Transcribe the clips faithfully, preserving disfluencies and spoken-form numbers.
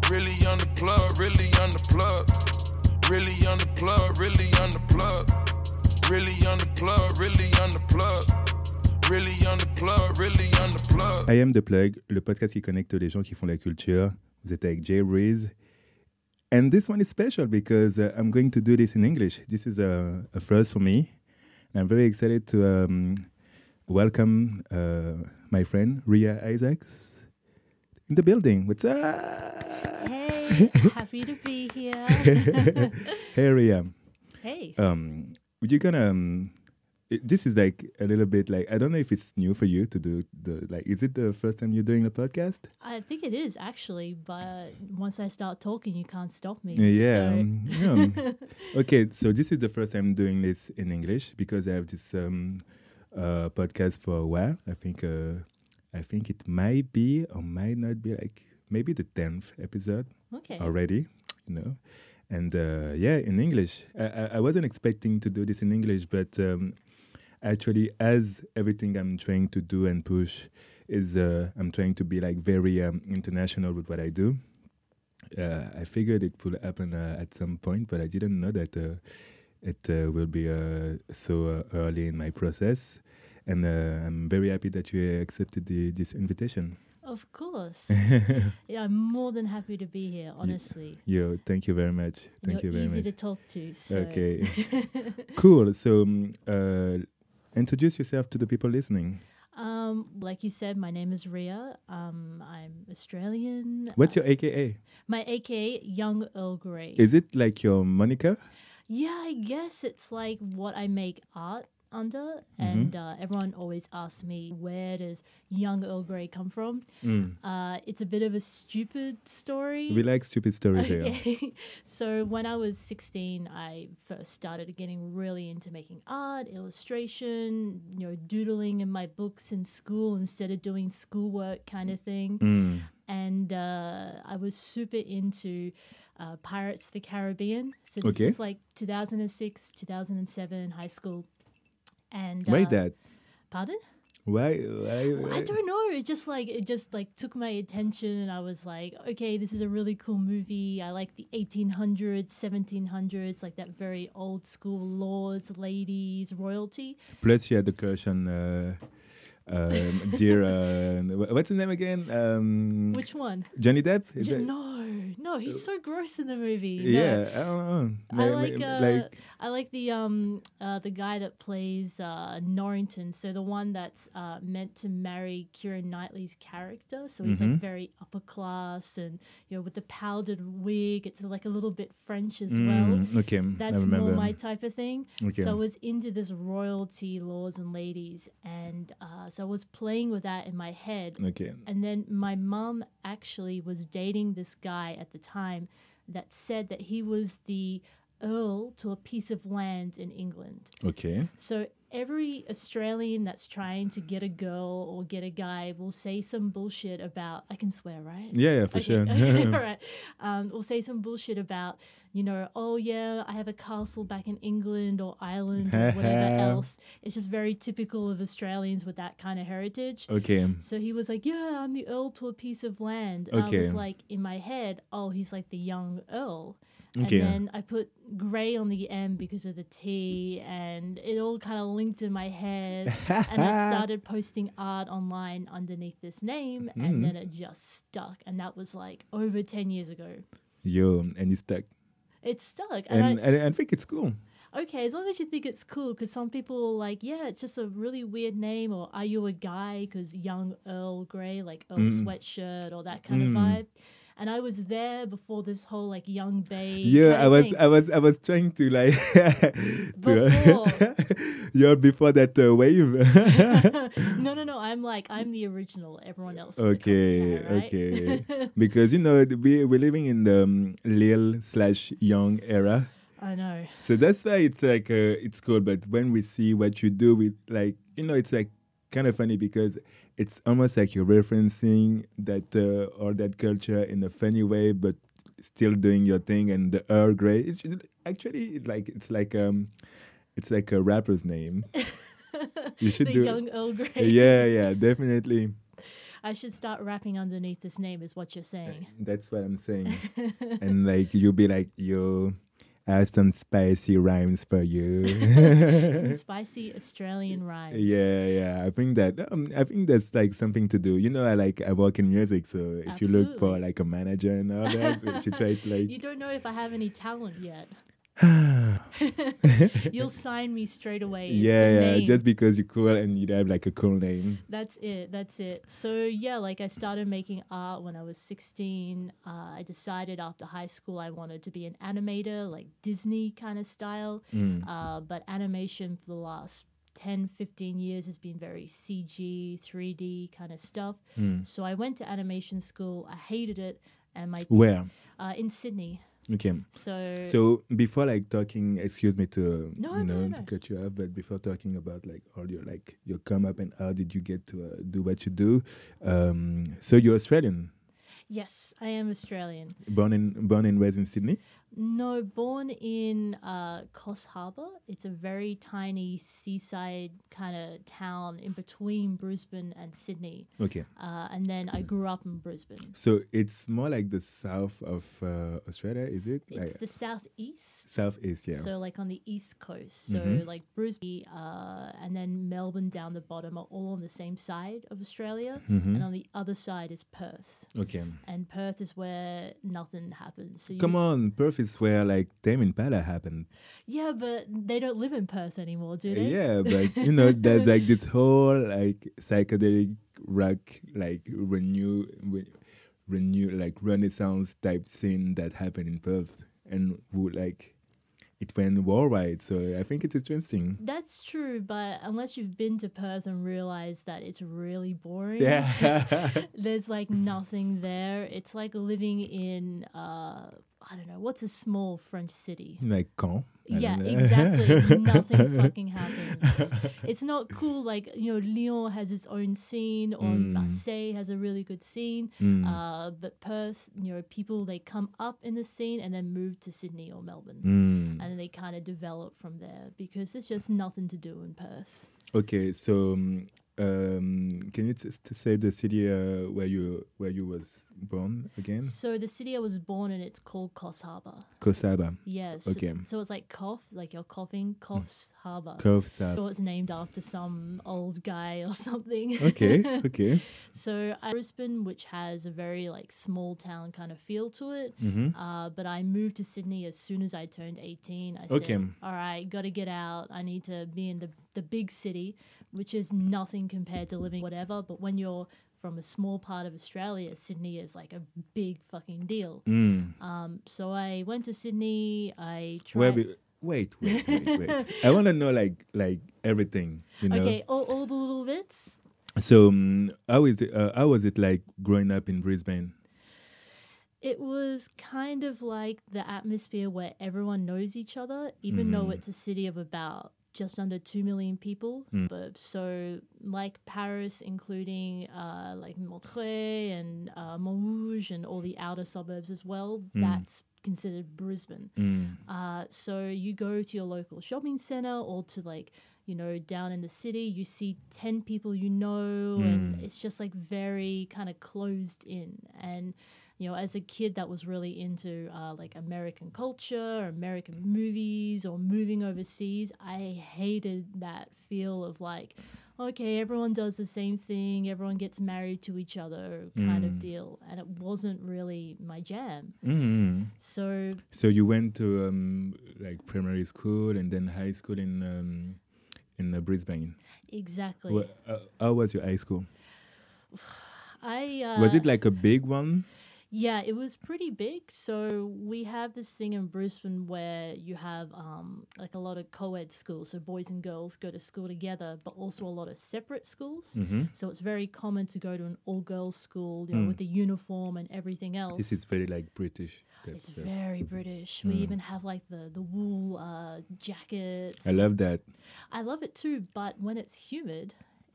Really on the plug, really on the plug. Really on the plug, really on the plug. Really on the plug, really on the plug. Really on the plug, really on the plug. I am The Plug, le podcast qui connecte les gens qui font la culture. Vous êtes avec Jay Reese. And this one is special because uh, I'm going to do this in English. This is a, a first for me. I'm very excited to um, welcome uh, my friend Ria Isaacs in the building. What's up? Hey, happy to be here. Hey, Ria. Hey. Um, would you gonna? Um, it, this is like a little bit like I don't know if it's new for you to do the like. Is it the first time you're doing a podcast? I think it is actually, but once I start talking, you can't stop me. Yeah. So. Um, yeah. Okay, so this is the first time doing this in English because I have this um, uh, podcast for a while. I think uh, I think it might be or might not be like maybe the tenth episode Okay. already, you know. And uh, yeah, in English. I, I, I wasn't expecting to do this in English, but um, actually, as everything I'm trying to do and push is, uh, I'm trying to be like very um, international with what I do. Uh, I figured it would happen uh, at some point, but I didn't know that uh, it uh, will be uh, so uh, early in my process. And uh, I'm very happy that you accepted the, this invitation. Of course. Yeah, I'm more than happy to be here, honestly. Yo, thank you very much. Thank You're you very easy much. to talk to. So. Okay. Cool. So, um, uh, introduce yourself to the people listening. Um, like you said, my name is Ria. Um, I'm Australian. What's uh, your A K A? My A K A, Young Earl Grey. Is it like your moniker? Yeah, I guess it's like what I make art under, Mm-hmm. and uh, everyone always asks me, where does Young Earl Grey come from? Mm. Uh, it's a bit of a stupid story. We like stupid stories here. Okay. So when I was sixteen, I first started getting really into making art, illustration, you know, doodling in my books in school instead of doing schoolwork kind of thing. Mm. And uh, I was super into uh, Pirates of the Caribbean. So this Okay. is like two thousand six, two thousand seven, high school. And Why uh, that? Pardon? Why? why, why? I don't know. It just like it just like took my attention, and I was like, okay, this is a really cool movie. I like the eighteen hundreds, seventeen hundreds, like that very old school lords, ladies, royalty. Plus, you had the crush on uh, um, dear. Uh, wh- what's his name again? Um, Which one? Johnny Depp? Is J- it? no, no, he's so gross in the movie. No. Yeah, I don't know. I Ma- ma- like uh, like I like the um uh the guy that plays uh Norrington, so the one that's uh meant to marry Keira Knightley's character. So he's Mhm. like very upper class, and you know, with the powdered wig, it's like a little bit French as well. mm, okay, I That's remember. more my type of thing. Okay. So I was into this royalty, lords and ladies, and uh, so I was playing with that in my head. Okay. And then my mum actually was dating this guy at the time that said that he was the earl to a piece of land in England. Okay. So every Australian that's trying to get a girl or get a guy will say some bullshit about, I can swear, right? Yeah, yeah, for Okay, sure. okay, all right. Um, we'll say some bullshit about, you know, oh yeah, I have a castle back in England or Ireland or whatever else. It's just very typical of Australians with that kind of heritage. Okay. So he was like, yeah, I'm the earl to a piece of land. And I Okay. was like, in my head, oh, he's like the young earl. Okay. And then I put grey on the M because of the T, and it all kind of linked in my head. And I started posting art online underneath this name, Mhm. and then it just stuck. And that was like over ten years ago. Yo, and it's stuck. It stuck. And, And, I, and I think it's cool. okay, as long as you think it's cool, because some people are like, yeah, it's just a really weird name, or are you a guy? Because young Earl Grey, like Earl Mm. Sweatshirt, or that kind Mm. of vibe. And I was there before this whole like young babe. Yeah, kind I of was, thing. I was, I was trying to like, Before. to, you're before that uh, wave. no, no, no. I'm like I'm the original. Everyone else. Is the Okay, copycat, right? okay. Because you know we we're living in the um, Lil slash Young era, I know. so that's why it's like uh, it's cool. But when we see what you do with like you know, it's like kind of funny because it's almost like you're referencing that uh, or that culture in a funny way, but still doing your thing. And the Earl Grey, it's just- actually like it's like um, it's like a rapper's name. You should the do young Earl Grey. Yeah, yeah, definitely. I should start rapping underneath this name, is what you're saying. That's what I'm saying. And like you'll be like, yo, I have some spicy rhymes for you. Some spicy Australian rhymes. Yeah, yeah. I think that um, I think that's like something to do. You know, I like I work in music, so if you look for Absolutely. like a manager and all that, you should try to like. You don't know if I have any talent yet. You'll sign me straight away. is Yeah, the yeah. name. Just because you're cool and you have like a cool name. That's it. That's it. So yeah, like I started making art when I was sixteen. Uh, I decided after high school I wanted to be an animator, like Disney kind of style. Mm. Uh, but animation for the last ten, fifteen years has been very C G, three D kind of stuff. Mm. So I went to animation school. I hated it, and my t- Where? uh, in Sydney. Okay. So So before like talking, excuse me to No, you no, know no. to cut you off, but before talking about like all your like your come up and how did you get to uh, do what you do, um, so you're Australian, yes, I am Australian. born in born and raised in Sydney. No, born in uh, Coffs Harbour. It's a very tiny seaside kind of town in between Brisbane and Sydney. Okay, Uh, and then I grew up in Brisbane. so it's more like the south of uh, Australia, is it? It's Like the southeast. southeast, yeah. So, like on the east coast. So, Mhm. like Brisbane uh, and then Melbourne down the bottom are all on the same side of Australia. Mhm. And on the other side is Perth. Okay, And Perth is where nothing happens. So you, come on, Perth is where like Tame Impala happened. Yeah, but they don't live in Perth anymore, do they? Yeah, but you know, there's like this whole like psychedelic rock, like renew, re- renew, like Renaissance type scene that happened in Perth, and who like it went worldwide. So I think it's interesting. That's true, but unless you've been to Perth and realized that it's really boring, Yeah. there's like nothing there. It's like living in, uh, I don't know, what's a small French city? Like Caen. I Yeah, don't know. exactly. Nothing fucking happens. It's not cool. Like, you know, Lyon has its own scene, or Mm. Marseille has a really good scene. Mm. Uh, but Perth, you know, people, they come up in the scene and then move to Sydney or Melbourne. Mm. And then they kind of develop from there because there's just nothing to do in Perth. Okay, so um, um, can you t- to say the city uh, where you where you was born again? So the city I was born in, it's called Coffs Harbour. Kosaba. Yes. Okay. So it's like cough, like you're coughing, Coffs Harbour. Kosaba. Sure, it's named after some old guy or something. Okay, okay. So I Brisbane, which has a very like small town kind of feel to it. Mm-hmm. Uh, but I moved to Sydney as soon as I turned eighteen. I Okay. said, all right, got to get out. I need to be in the, the big city, which is nothing compared to living whatever. But when you're from a small part of Australia, Sydney is like a big fucking deal. Mm. Um, so I went to Sydney. I tried. Where be, wait, wait, wait, wait. I want to know like like everything, you know. Okay, all, all the little bits. So um, how is it? Uh, how was it like growing up in Brisbane? It was kind of like the atmosphere where everyone knows each other, even though Mhm. it's a city of about just under two million people. Mm. But so, like Paris, including uh, like Montreux and uh, Montrouge and all the outer suburbs as well, Mm. that's considered Brisbane. Mm. Uh, so you go to your local shopping center or to like, you know, down in the city, you see ten people you know, and Mm. it's just like very kind of closed in. And, you know, as a kid that was really into uh, like American culture, American movies, or moving overseas, I hated that feel of like, okay, everyone does the same thing, everyone gets married to each other kind of Mm. deal. And it wasn't really my jam. Mm. So So you went to um, like primary school and then high school in um, in uh, Brisbane. exactly. Wha- uh, how was your high school? I uh, Was it like a big one? Yeah, it was pretty big. So we have this thing in Brisbane where you have um, like a lot of co-ed schools. So boys and girls go to school together, but also a lot of separate schools. Mm-hmm. So it's very common to go to an all-girls school, you know, Mm. with the uniform and everything else. This is very like British. that It's stuff. very British. We Mm. even have like the the wool uh, jackets. I love that. I love it too, but when it's humid,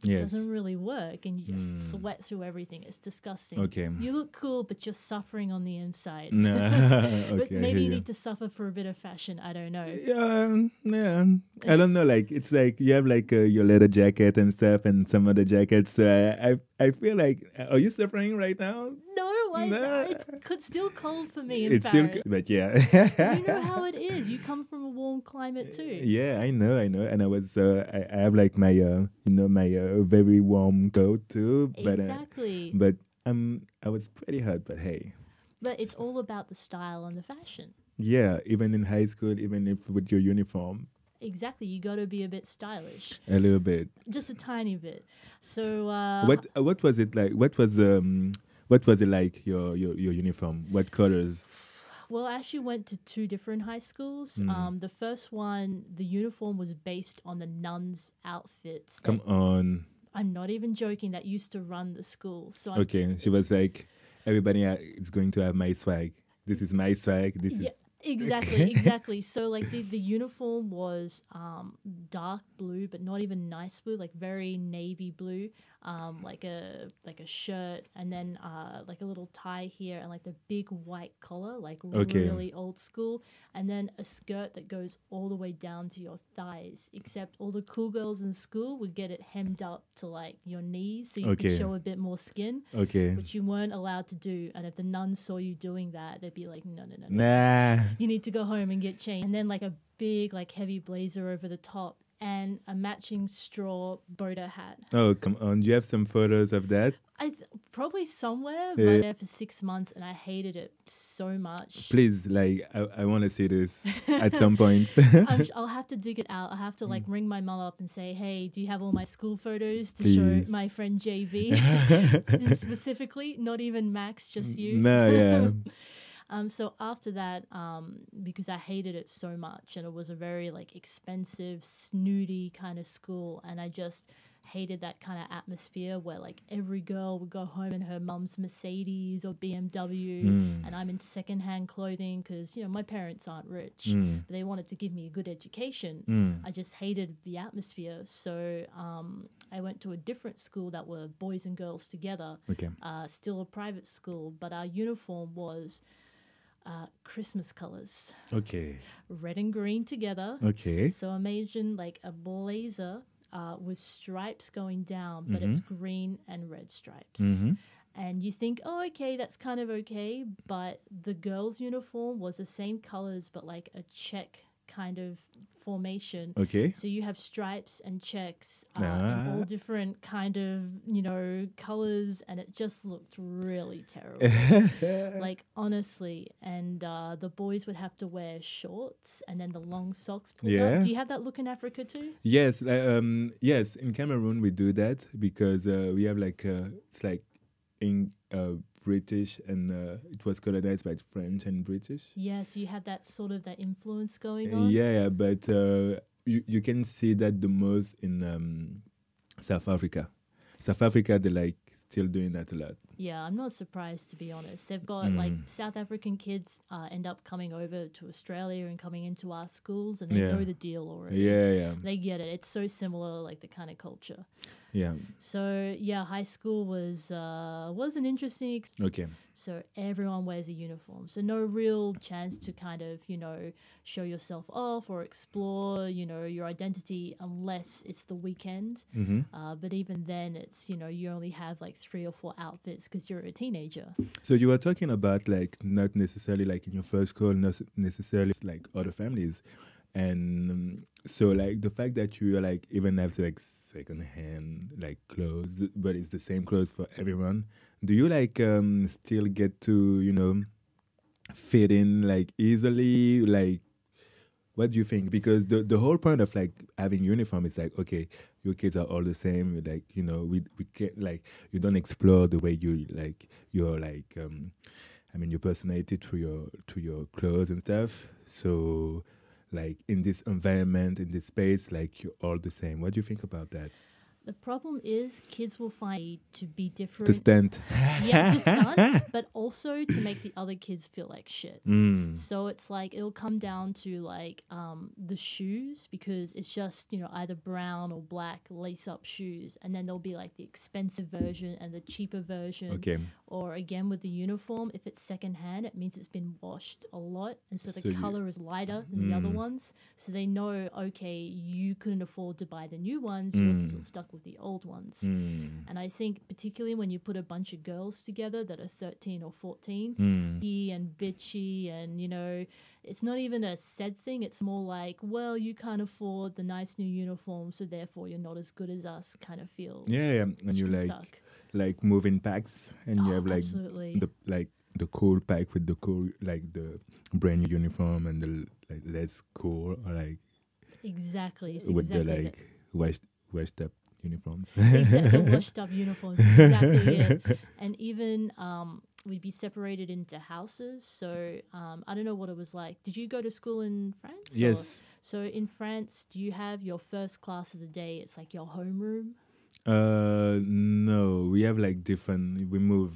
Yes. doesn't really work, and you just Mm. sweat through everything. It's disgusting. Okay. You look cool, but you're suffering on the inside. Nah, But okay, I maybe hear you you. need to suffer for a bit of fashion. I don't know. Yeah, yeah. I don't know. Like it's like you have like uh, your leather jacket and stuff, and some other jackets. So I, I, I feel like. Are you suffering right now? No, I, No. it's co- still cold for me in It's still, Paris. but yeah. You know how it is. You come from a warm climate too. Yeah, I know, I know, and I was, uh, I, I have like my, uh, you know, my uh, very warm coat too, but, uh, Exactly. but um, I was pretty hot. But hey, But it's all about the style and the fashion. yeah, even in high school, even if with your uniform, Exactly. You got to be a bit stylish, a little bit. just a tiny bit. So uh, What, uh, what was it like? What was um, what was it like? Your, your, your uniform? What colors? Well, I actually went to two different high schools. Mm. Um, the first one, the uniform was based on the nuns' outfits. Come that- on. I'm not even joking. That used to run the school. So I'm- Okay, she was like, everybody uh, is going to have my swag. This is my swag. This yeah, is exactly, exactly. So like the the uniform was um, dark blue, but not even nice blue, like very navy blue. Um, like a like a shirt, and then uh, like a little tie here, and like the big white collar, like Okay. really old school, and then a skirt that goes all the way down to your thighs. Except all the cool girls in school would get it hemmed up to like your knees, so you Okay. could show a bit more skin, okay. which you weren't allowed to do. And if the nuns saw you doing that, they'd be like, no, no, no, no. Nah. You need to go home and get changed. And then like a big like heavy blazer over the top and a matching straw boater hat. Oh, come on. Do you have some photos of that? I th- probably somewhere, Yeah. but there for six months, and I hated it so much. Please, like, I, I want to see this at some point. I'm sh- I'll have to dig it out. I'll have to like ring my mum up and say, "Hey, do you have all my school photos to Please. show my friend J V?" And specifically, not even Max, just you. No, yeah. Um, so after that, um, because I hated it so much, and it was a very like expensive, snooty kind of school, and I just hated that kind of atmosphere where like every girl would go home in her mum's Mercedes or B M W, Mm. and I'm in secondhand clothing because you know my parents aren't rich, Mm. but they wanted to give me a good education. Mm. I just hated the atmosphere, so um, I went to a different school that were boys and girls together. Okay. Uh, still a private school, but our uniform was uh, Christmas colors, Okay. red and green together. Okay. So imagine like a blazer uh, with stripes going down, but it's green and red stripes. Mhm. And you think, oh, okay, that's kind of okay. But the girls' uniform was the same colors, but like a check kind of formation. Okay. So you have stripes and checks uh, in all Ah. different kind of, you know, colors, and it just looked really terrible. Like honestly, and uh, the boys would have to wear shorts and then the long socks pulled Yeah. up. Do you have that look in Africa too? Yes, like, um, yes. In Cameroon, we do that because uh, we have like uh, it's like in uh, British and uh, it was colonized by French and British. Yeah, so you have that sort of that influence going Uh, on. Yeah, yeah, but uh, you you can see that the most in um, South Africa. South Africa, they like still doing that a lot. Yeah, I'm not surprised to be honest. They've got like Mm. South African kids uh, end up coming over to Australia and coming into our schools, and they Yeah. know the deal already. Yeah, yeah, They get it. It's so similar, like the kind of culture. yeah. So yeah, high school was uh, was an interesting. Ex- Okay. so everyone wears a uniform. So no real chance to kind of you know show yourself off or explore you know your identity unless it's the weekend. Mm-hmm. Uh, but even then, it's you know you only have like three or four outfits because you're a teenager. So you were talking about like not necessarily like in your first school, not necessarily like other families, and um, so like the fact that you are like even have like second hand like clothes, but it's the same clothes for everyone. Do you like um still get to you know fit in like easily? Like, what do you think? Because the the whole point of like having uniform is like, okay, your kids are all the same. Like, you know, we we can't like you don't explore the way you like your like um, I mean your personality through your to your clothes and stuff. So, like in this environment, in this space, like you're all the same. What do you think about that? The problem is kids will find to be To different. stand. Yeah, to stun, but also to make the other kids feel like shit. Mm. So it's like it'll come down to like um, the shoes because it's just you know either brown or black lace up shoes, and then there'll be like the expensive version and the cheaper version. Okay. Or again with the uniform, if it's secondhand, it means it's been washed a lot, and so the So you- color is lighter than the other Mm. ones. So they know, okay, you couldn't afford to buy the new ones, you're Mm. still stuck with the old ones. Mm. And I think particularly when you put a bunch of girls together that are thirteen or fourteen, Mm. bitchy and bitchy, and you know, it's not even a said thing. It's more like, well, you can't afford the nice new uniform, so therefore you're not as good as us. Kind of feel. Yeah, yeah. And which you can like suck. like moving packs, and you Oh, have like absolutely. the like the cool pack with the cool like the brand new uniform and the like less cool or like Exactly. It's with exactly the that. like washed washed up uniforms. Exactly, the washed up uniforms. Exactly it. And even um, we'd be separated into houses. So um, I don't know what it was like. Did you go to school in France? or- Yes. So in France, do you have your first class of the day? It's like your homeroom. Uh, no, we have like different. We move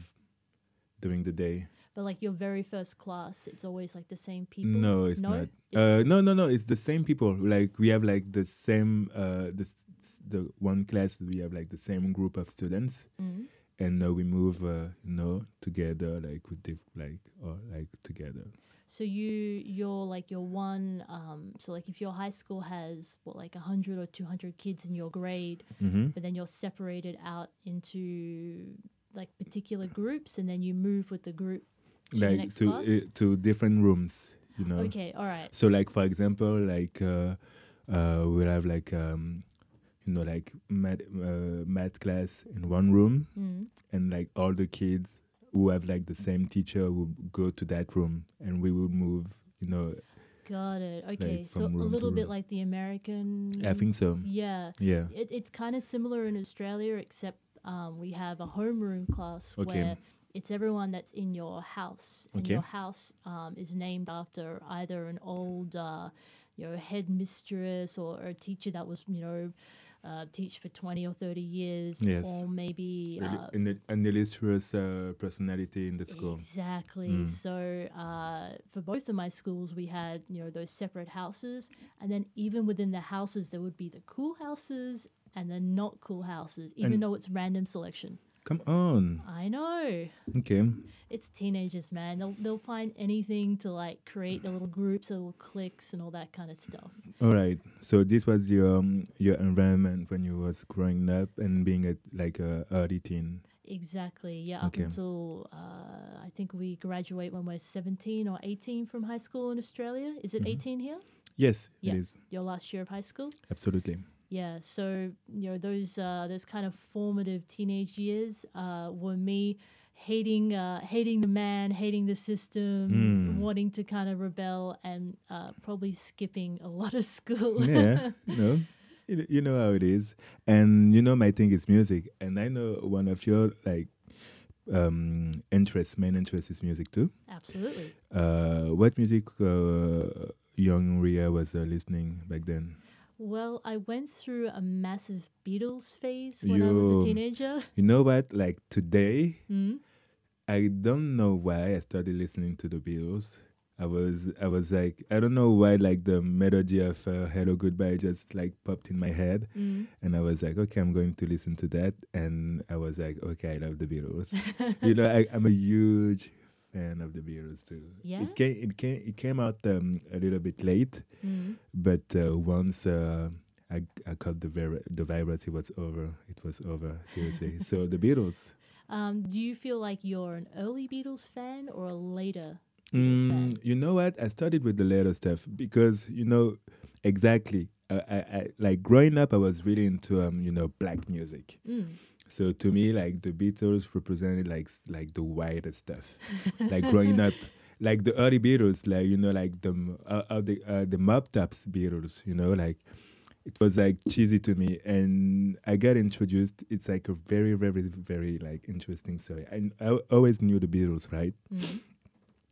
during the day. But like your very first class, it's always like the same people. No, it's no? not. It's- Uh, no, no, no. It's the same people. Like we have like the same. Uh, the s- s- the one class we have like the same group of students, Mm. and uh, we move. Uh, you know, together like with diff- like or like together. So you you're like your one. Um, so like if your high school has what like a hundred or two hundred kids in your grade, Mm-hmm. but then you're separated out into like particular groups, and then you move with the group to the Like next to class. uh, to different rooms. You know. Okay, all right. So like for example, like uh, uh, we'll have like um, you know like math uh, math class in one room, Mm. and like all the kids who have like the same teacher will go to that room, and we will move. You know, Got it. Okay, so a from room to little bit room. like the American. I think so. Yeah, Yeah. it, it's kind of similar in Australia, except um, we have a homeroom class Okay. where it's everyone that's in your house, and Okay. your house um, is named after either an old, uh, you know, headmistress or, or a teacher that was, you know, uh, teach for twenty or thirty years, Yes. or maybe. Really, Uh, an, an illustrious uh, personality in the school. Exactly. Mm. So uh, for both of my schools, we had you know those separate houses, and then even within the houses, there would be the cool houses and the not cool houses, even And- though it's random selection. Come on. I know. Okay. It's teenagers, man. They'll they'll find anything to like create their little groups, their little cliques, and all that kind of stuff. All right. So this was your um, your environment when you was growing up and being a like a early teen. Exactly. Yeah. Up Okay. until uh, I think we graduate when we're seventeen or eighteen from high school in Australia. Is it Mhm. eighteen here? Yes, Yeah. it is Your last year of high school? absolutely. Yeah, so you know those uh, those kind of formative teenage years uh, were me hating uh, hating the man, hating the system, Mm. wanting to kind of rebel, and uh, probably skipping a lot of school. Yeah, you know, you, you know how it is, and you know my thing is music, and I know one of your like um interests, main interest is music too. Absolutely. Uh, what music uh, young Ria was uh, listening back then? Well, I went through a massive Beatles phase when I was a Yo. teenager. You know what? Like today, Mm. I don't know why I started listening to the Beatles. I was I was like I don't know why like the melody of uh, Hello Goodbye just like popped in my head, Mm. and I was like, okay, I'm going to listen to that, and I was like, okay, I love the Beatles. You know, I, I'm a huge fan of the Beatles too. Yeah? It came it came it came out um, a little bit late, Mm. but uh, once uh, I I caught the vir- the virus, it was over. It was over seriously. So the Beatles. Um, do you feel like you're an early Beatles fan or a later Beatles fan? Mm, you know what? I started with the later stuff because you know exactly. Uh, I, I like growing up. I was really into um you know black music. Mm. So to me, like the Beatles represented like s- like the whiter stuff. Like growing up, like the early Beatles, like you know, like the m- uh, uh, the uh, the Mop Tops Beatles. You know, like it was like cheesy to me, and I got introduced. It's like a very very very like interesting story. I I always knew the Beatles, right? Mm.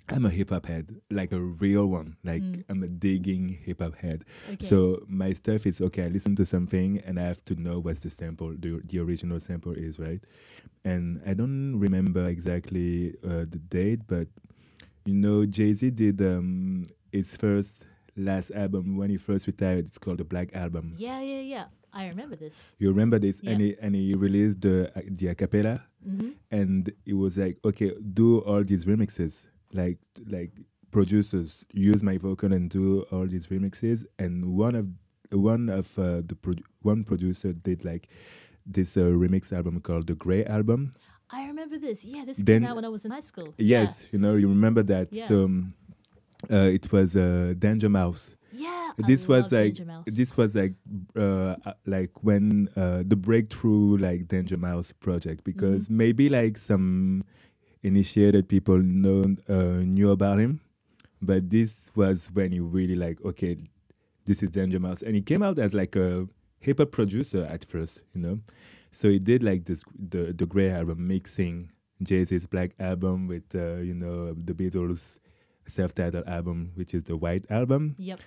I'm a hip hop head, like a real one. Like Mm. I'm a digging hip hop head. Okay. So my stuff is okay. I listen to something and I have to know what's the sample, the the original sample is, right? And I don't remember exactly uh, the date, but you know, Jay Z did um his first last album when he first retired. It's called the Black Album. Yeah, yeah, yeah. I remember this. You remember this? Yeah. And he and he released the uh, the acapella, Mm-hmm. and it was like, okay, do all these remixes, like like producers use my vocal and do all these remixes. And one of one of uh, the pro- one producer did like this uh, remix album called the Grey Album. I remember this. Yeah, this Then- came out when I was in high school. Yes, you know, you remember that. Yeah. So um, uh, it was uh, Danger Mouse. Yeah. This I was love like Danger Mouse. this was like uh, uh, like when uh, the breakthrough like Danger Mouse project, because Mm-hmm. maybe like some initiated people know uh, knew about him, but this was when you really like, okay, this is Danger Mouse, and he came out as like a hip hop producer at first, you know. So he did like this the the Grey album, mixing Jay Z's Black album with uh, you know, the Beatles self-titled album, which is the White album. Yep.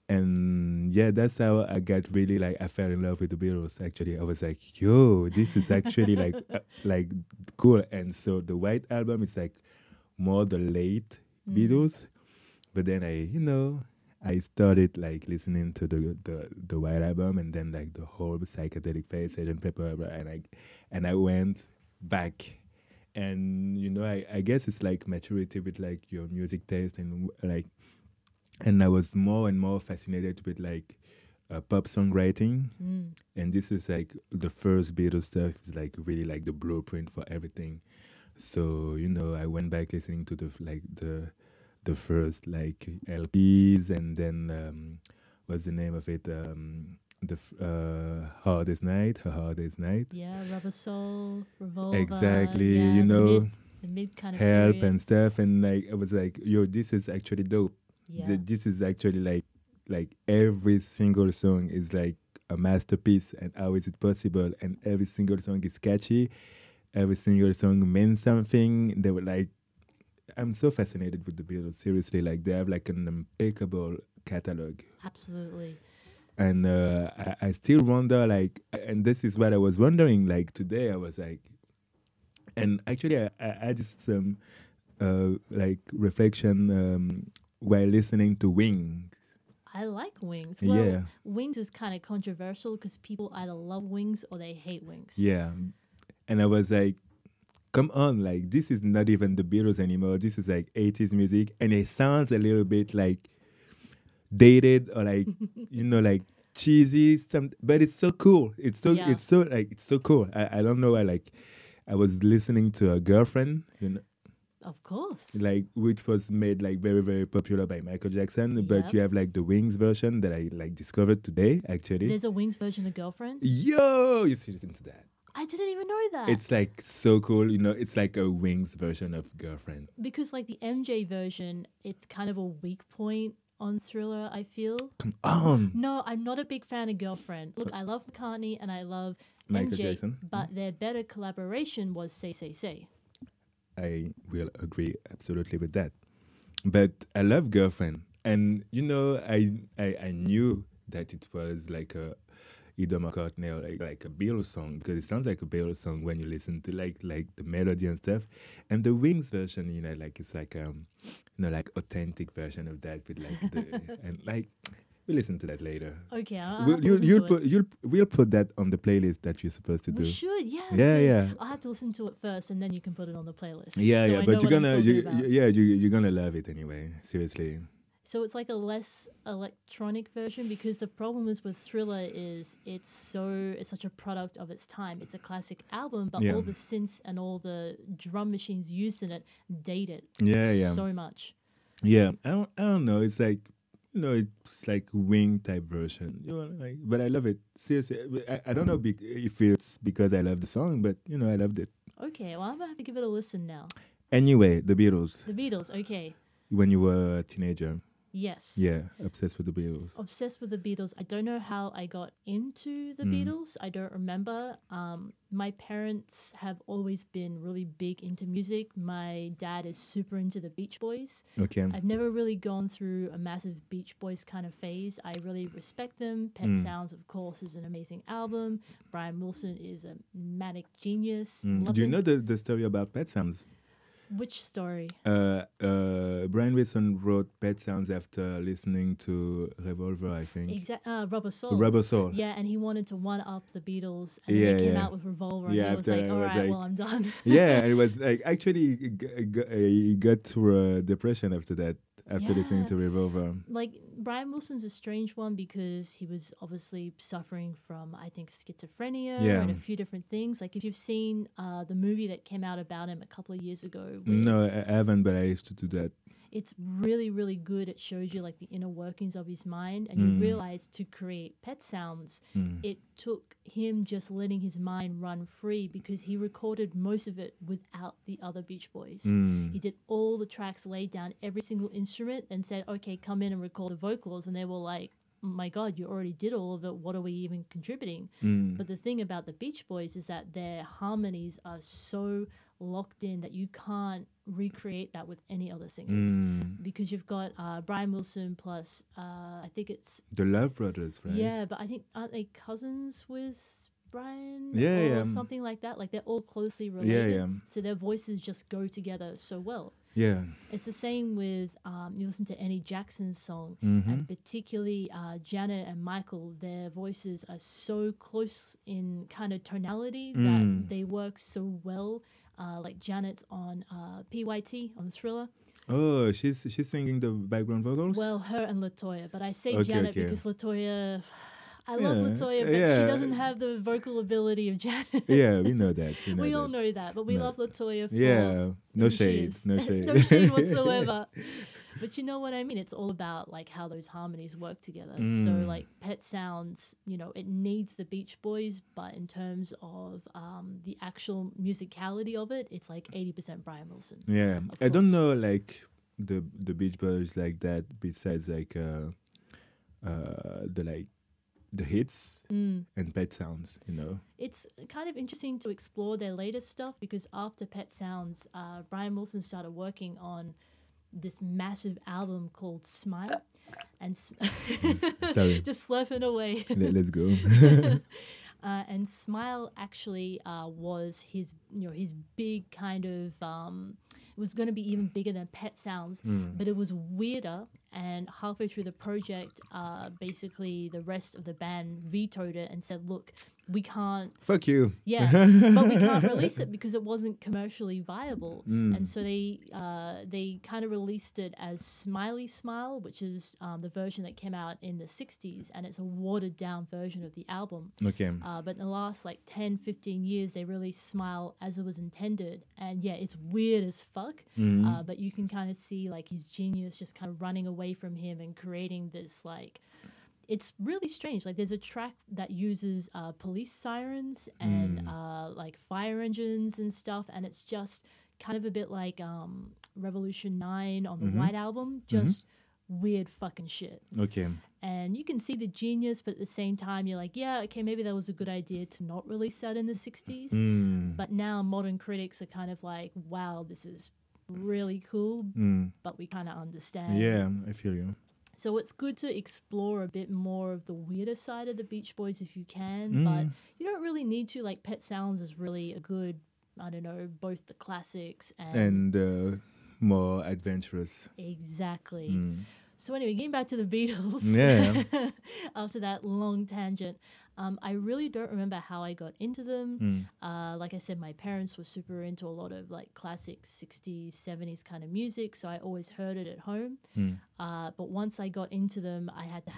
And yeah, that's how I got really like I fell in love with the Beatles. Actually, I was like, "Yo, this is actually like uh, like cool." And so the White album is like more the late Mm. Beatles, but then I, you know, I started like listening to the the the White album, and then like the whole psychedelic phase, Sergeant Pepper, and I and I went back. And you know, I, I guess it's like maturity with like your music taste and like, and I was more and more fascinated with like uh, pop songwriting, Mm. and this is like the first Beatles stuff is like really like the blueprint for everything. So you know, I went back listening to the f- like the the first like L Ps, and then um, what's the name of it? Um, the f- uh, Hardest Night, Her Hardest Night. Yeah, Rubber Soul, Revolver. Exactly, yeah, you the know, mid, the mid kind of Help period. and stuff, and like I was like, yo, this is actually dope. Yeah. Th- this is actually like like every single song is like a masterpiece, and how is it possible? And every single song is catchy, every single song means something. They were like, I'm so fascinated with the Beatles, seriously. Like they have like an impeccable catalog, Absolutely. and uh, I, I still wonder like, and this is what I was wondering like today. I was like, and actually I I, I just um uh like reflection um while listening to Wings. I like Wings. Well, Yeah. Wings is kind of controversial because people either love Wings or they hate Wings. Yeah. And I was like, come on, like this is not even the Beatles anymore. This is like eighties music, and it sounds a little bit like dated or like you know, like cheesy some, but it's so cool. It's so Yeah. it's so like it's so cool. I, I don't know why, like I was listening to a girlfriend, you know, Of course. like which was made like very very popular by Michael Jackson, but Yep. you have like the Wings version that I like discovered today actually. There's a Wings version of Girlfriend. Yo, you should listen to that. I didn't even know that. It's like so cool, you know. It's like a Wings version of Girlfriend. because like the M J version, it's kind of a weak point on Thriller, I feel. Come on, No, I'm not a big fan of Girlfriend. Look, I love McCartney and I love Michael M J, Jackson. but their better collaboration was Say Say Say. I will agree absolutely with that. But I love Girlfriend, and you know, I I, I knew that it was like a either McCartney or like, like a Beatles song, because it sounds like a Beatles song when you listen to like like the melody and stuff. And the Wings version, you know, like it's like um you know, like authentic version of that with like the and like we listen to that later. Okay, I'll, I'll We'll, have to you'll, listen you'll to put it. you'll we'll put that on the playlist that you're supposed to do. We should, yeah. Yeah, because yeah. I'll have to listen to it first, and then you can put it on the playlist. Yeah, so yeah, I but know you're what I'm gonna, talking you, about. you- yeah, you, you're gonna love it anyway. Seriously. So it's like a less electronic version, because the problem is with Thriller is it's so it's such a product of its time. It's a classic album, but Yeah. all the synths and all the drum machines used in it date it Yeah, yeah, so much. yeah. I don't, I don't know. It's like, you know, it's like Wing type version. You know, like, but I love it. Seriously, I, I don't know bec- if it's because I love the song, but you know, I loved it. Okay, well I'm gonna have to give it a listen now. Anyway, the Beatles. The Beatles, okay. When you were a teenager, Yes. Yeah, obsessed with the Beatles. Obsessed with the Beatles. I don't know how I got into the Mm. Beatles. I don't remember. Um, my parents have always been really big into music. My dad is super into the Beach Boys. Okay. I've never really gone through a massive Beach Boys kind of phase. I really respect them. Pet Mm. Sounds, of course, is an amazing album. Brian Wilson is a manic genius. Mm. Love Do you him. know the, the story about Pet Sounds? Which story? Uh, uh, Brian Wilson wrote Pet Sounds after listening to Revolver, I think. Exact. Uh, Rubber Soul. Rubber Soul. Yeah, and he wanted to one up the Beatles, and Yeah, then they came yeah. out with Revolver, Yeah, and he was after like, I "All was right, like- well, I'm done." Yeah, it was like actually he g- g- he got through a depression after that, after listening Yeah. to Revolver. Like Brian Wilson's a strange one because he was obviously suffering from, I think, schizophrenia Yeah. and a few different things. Like if you've seen uh, the movie that came out about him a couple of years ago, with, No, I I haven't, but I used to do that. it's really, really good. It shows you like the inner workings of his mind, and Mm. you realize to create Pet Sounds, Mm. it took him just letting his mind run free because he recorded most of it without the other Beach Boys. Mm. He did all the tracks, laid down every single instrument, and said, "Okay, come in and record the vocals." And they were like, "My God, you already did all of it. What are we even contributing?" Mm. But the thing about the Beach Boys is that their harmonies are so locked in that you can't recreate that with any other singers. Mm. Because you've got uh, Brian Wilson plus, uh, I think it's, The Love Brothers, right? yeah, but I think, aren't they cousins with Brian? Yeah, or yeah. something like that. Like they're all closely related. yeah. So their voices just go together so well. Yeah. It's the same with um, you listen to Annie Jackson's song, Mhm. and particularly uh, Janet and Michael. Their voices are so close in kind of tonality Mm. that they work so well. Uh, like Janet's on uh, P Y T on Thriller. Oh, she's she's singing the background vocals. Well, her and Latoya, but I say Okay, Janet okay. because Latoya. I love Yeah, Latoya, but she yeah. doesn't have the vocal ability of Janet. Yeah, we know that. We, know we that. all know that, but we No. love Latoya for Yeah, no who she shade, is. no shade, no shade whatsoever. But you know what I mean? It's all about like how those harmonies work together. So Mm. like Pet Sounds, you know, it needs the Beach Boys, but in terms of um, the actual musicality of it, it's like eighty percent Brian Wilson. Yeah, Of I don't course. know like the the Beach Boys like that. Besides like uh, uh, the like the hits Mm. and Pet Sounds, you know. It's kind of interesting to explore their latest stuff because after Pet Sounds, uh, Brian Wilson started working on this massive album called Smile, and s- Sorry. just slurping away. Let, let's go. Uh, and Smile actually uh, was his, you know, his big kind of. Um, it was going to be even bigger than Pet Sounds, Mm. but it was weirder. And halfway through the project, uh, basically the rest of the band vetoed it and said, "Look, we can't." Fuck you. Yeah, but we can't release it because it wasn't commercially viable. Mm. And so they uh, they kind of released it as Smiley Smile, which is um, the version that came out in the sixties, and it's a watered down version of the album. Okay. Uh, but in the last like ten, fifteen years, they released Smile as it was intended. And yeah, it's weird as fuck, Mhm. uh, but you can kind of see like his genius just kind of running away from him and creating this like. It's really strange. Like there's a track that uses uh, police sirens and Mm. uh, like fire engines and stuff, and it's just kind of a bit like um, Revolution nine on the Mhm. White Album, just weird fucking shit. Okay. And you can see the genius, but at the same time, you're like, yeah, okay, maybe that was a good idea to not release that in the sixties. Mm. But now modern critics are kind of like, wow, this is really cool, Mm. but we kind of understand. Yeah, I feel you. So it's good to explore a bit more of the weirder side of the Beach Boys if you can, but Mm. you don't really need to. Like Pet Sounds is really a good, I don't know, both the classics and, And uh, more adventurous. exactly. Mm. So anyway, getting back to the Beatles. Yeah. After that long tangent, um, I really don't remember how I got into them. Mm. Uh, like I said, my parents were super into a lot of like classic sixties, seventies kind of music, so I always heard it at home. Mm. Uh, but once I got into them, I had to have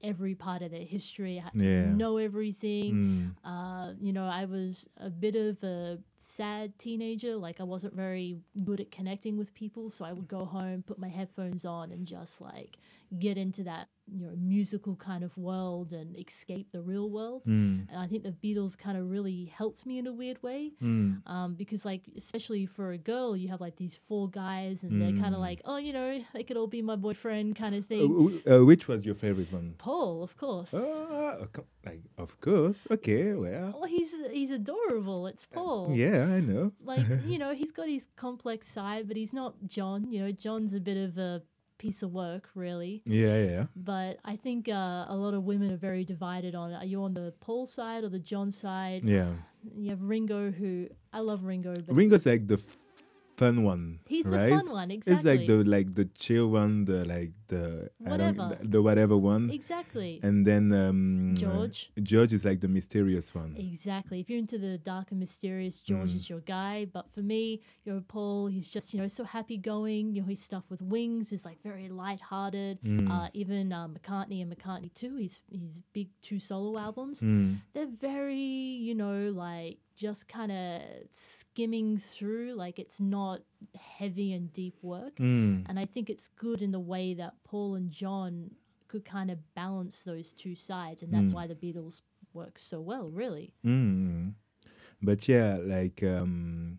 every part of their history. I had to Yeah. know everything. Mm. Uh, you know, I was a bit of a sad teenager. Like, I wasn't very good at connecting with people. So I would go home, put my headphones on, and just like get into that, you know, musical kind of world and escape the real world. Mm. And I think the Beatles kind of really helped me in a weird way. Mm. Um, because, like, especially for a girl, you have like these four guys, and they're kind of Mm. like, oh, you know, they could all be my boyfriend kind of Uh, thing. w- uh, which was your favorite one? Paul, of course. Ah, of co- like of course. Okay, well. Well, he's he's adorable. It's Paul. Yeah, I know. Like, you know, he's got his complex side, but he's not John. You know, John's a bit of a piece of work, really. Yeah, yeah. But I think uh, a lot of women are very divided on, are you on the Paul side or the John side? Yeah. You have Ringo, who I love Ringo, but Ringo's it's- like the f- fun one. he's right? the fun one, exactly. It's like the like the chill one, the like the I don't- Whatever. the, the whatever one. exactly. And then um, George. uh, George is like the mysterious one. Exactly. If you're into the dark and mysterious, George Mm. is your guy. But for me, you know, Paul, he's just, you know, so happy going. You know, his stuff with Wings is like very lighthearted. Mm. Uh, even uh, McCartney and McCartney two, his his big two solo albums, Mm. they're very, you know, like just kind of skimming through. Like, it's not heavy and deep work. Mm. And I think it's good in the way that Paul and John could kind of balance those two sides. And that's Mm. why the Beatles work so well, really. Mm. But yeah, like um,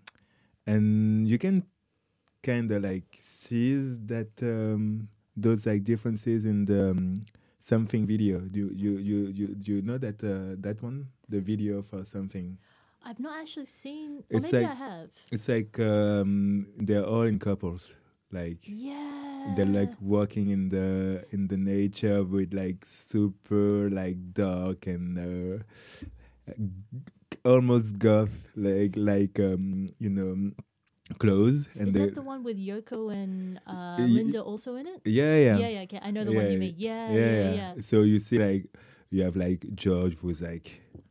and you can kind of like see that um, those like differences in the um, something video. Do you you you do you know that uh, that one, the video for something? I've not actually seen, or It's maybe like- I have. It's like um, they're all in couples, like Yeah. they're like walking in the in the nature with like super like dark and uh, almost goth like like um you know clothes and Is they that the one with Yoko and uh, Y- Linda also in it? yeah yeah Yeah, yeah, okay. I know the one Yeah, you yeah. mean. Yeah, yeah, yeah, yeah. yeah. So you see like you have like George who's like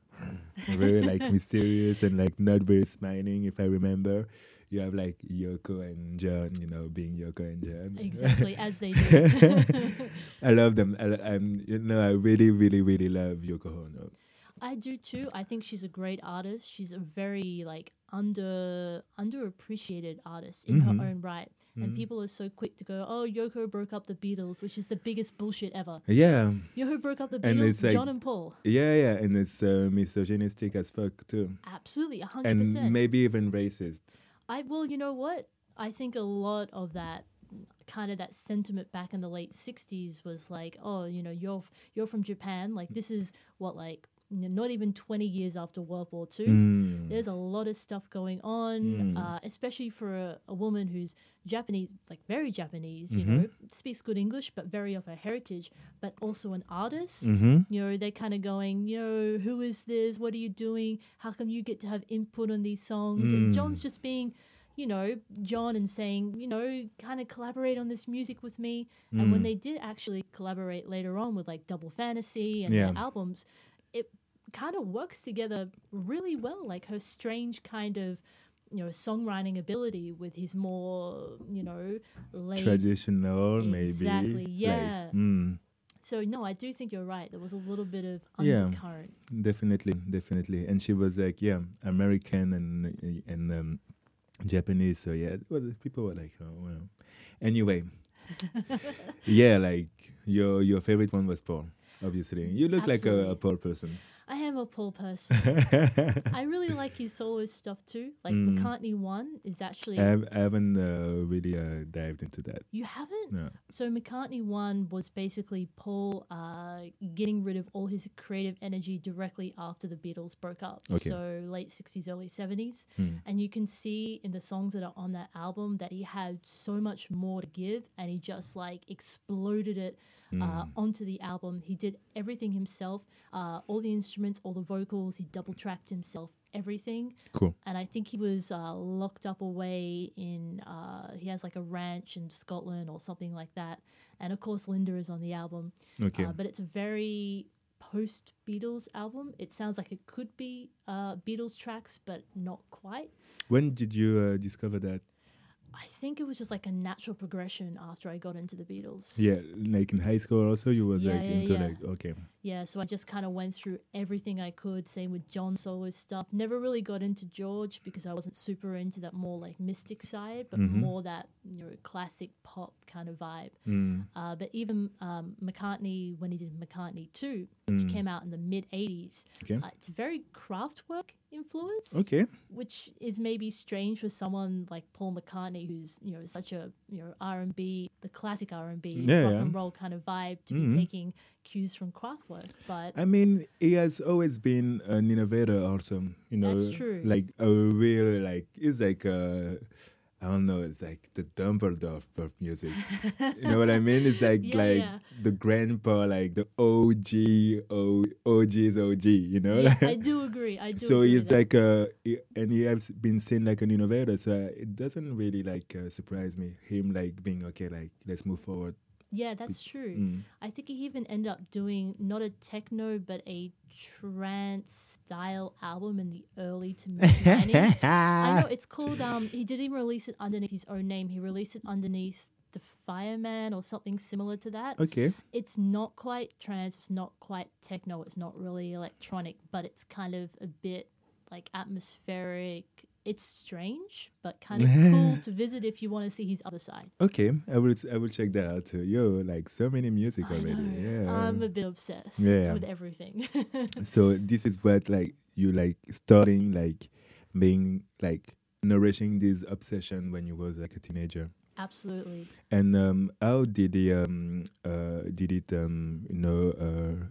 very like mysterious and like not very smiling if I remember. You have like Yoko and John, you know, being Yoko and John. Exactly, as they do. I love them. I, I'm, you know, I really, really, really love Yoko Ono. I do too. I think she's a great artist. She's a very like under underappreciated artist in Mhm. her own right. And Mhm. people are so quick to go, "Oh, Yoko broke up the Beatles," which is the biggest bullshit ever. Yeah, You know who broke up the And Beatles? it's like- John and Paul. yeah, yeah, and it's uh, misogynistic as fuck too, Absolutely, a hundred and percent. maybe even racist. I well, you know what? I think a lot of that kind of that sentiment back in the late sixties was like, oh, you know, you're f- you're from Japan. Like, this is what, like, you know, not even twenty years after World War Two. Mm. There's a lot of stuff going on, Mm. uh, especially for a, a woman who's Japanese, like very Japanese, you Mhm. know, speaks good English, but very of her heritage, but also an artist. Mhm. You know, they're kind of going, you know, who is this? What are you doing? How come you get to have input on these songs? Mm. And John's just being, you know, John and saying, you know, kind of collaborate on this music with me. And when Mm. they did actually collaborate later on with like Double Fantasy and Yeah. their albums, it kind of works together really well. Like her strange kind of, you know, songwriting ability with his more, you know, laid. Traditional, maybe. Exactly, Like, yeah. mm. So no, I do think you're right. There was a little bit of Yeah. undercurrent. Definitely, definitely. And she was like, yeah, American and and um, Japanese. So yeah, well, people were like, oh well. Anyway, yeah, like your your favorite one was Paul. Obviously, you look like a, a Absolutely. Paul person. I am a Paul person. I really like his solo stuff too. Like Mm. McCartney One is actually I, have, I haven't uh, really uh, dived into that. you haven't. No. So McCartney One was basically Paul uh, getting rid of all his creative energy directly after the Beatles broke up. Okay. So late sixties, early seventies. Hmm. And you can see in the songs that are on that album that he had so much more to give and he just like exploded it uh, Mm. onto the album. He did everything himself, uh, all the instruments, all the vocals. He double tracked himself, everything. Cool. And I think he was uh, locked up away in, uh, he has like a ranch in Scotland or something like that. And of course, Linda is on the album. Okay. Uh, but it's a very post Beatles album. It sounds like it could be uh, Beatles tracks, but not quite. When did you uh, discover that? I think it was just like a natural progression after I got into the Beatles. Yeah, like in high school also you was Yeah, like yeah, into yeah. like okay. Yeah, so I just kind of went through everything I could. Same with John solo stuff. Never really got into George because I wasn't super into that more like mystic side, but Mhm. more that, you know, classic pop kind of vibe. Mm. Uh, but even um, McCartney, when he did McCartney two, which Mm. came out in the mid eighties, Okay. uh, it's very Kraftwerk influence, Okay. which is maybe strange for someone like Paul McCartney, who's, you know, such a, you know, R and B, the classic R and B, Yeah, rock yeah. and roll kind of vibe, to Mhm. be taking cues from Kraftwerk. But I mean, he has always been an innovator, also. You know, That's true. Like a real, like he's like a, I don't know, it's like the Dumbledore of music. You know what I mean? It's like Yeah, like yeah. the grandpa, like the O G, O OG's O G. You know? yeah, I do agree. I do So agree he's with that. like a, he- and he has been seen like an innovator. So it doesn't really like uh, surprise me him like being okay. Like let's move forward. Yeah, that's true. Mm. I think he even ended up doing not a techno but a trance style album in the early to mid nineties. I know it's called. Um, he didn't even release it underneath his own name. He released it underneath the Fireman or something similar to that. Okay. It's not quite trance. It's not quite techno. It's not really electronic, but it's kind of a bit like atmospheric. It's strange, but kind of cool to visit if you want to see his other side. Okay, I will I will check that out too. Yo, like so many music I already. know. Yeah. I'm a bit obsessed Yeah. with everything. So this is what like you like starting like being like nourishing this obsession when you was like a teenager. Absolutely. And um how did it um uh did it um you know uh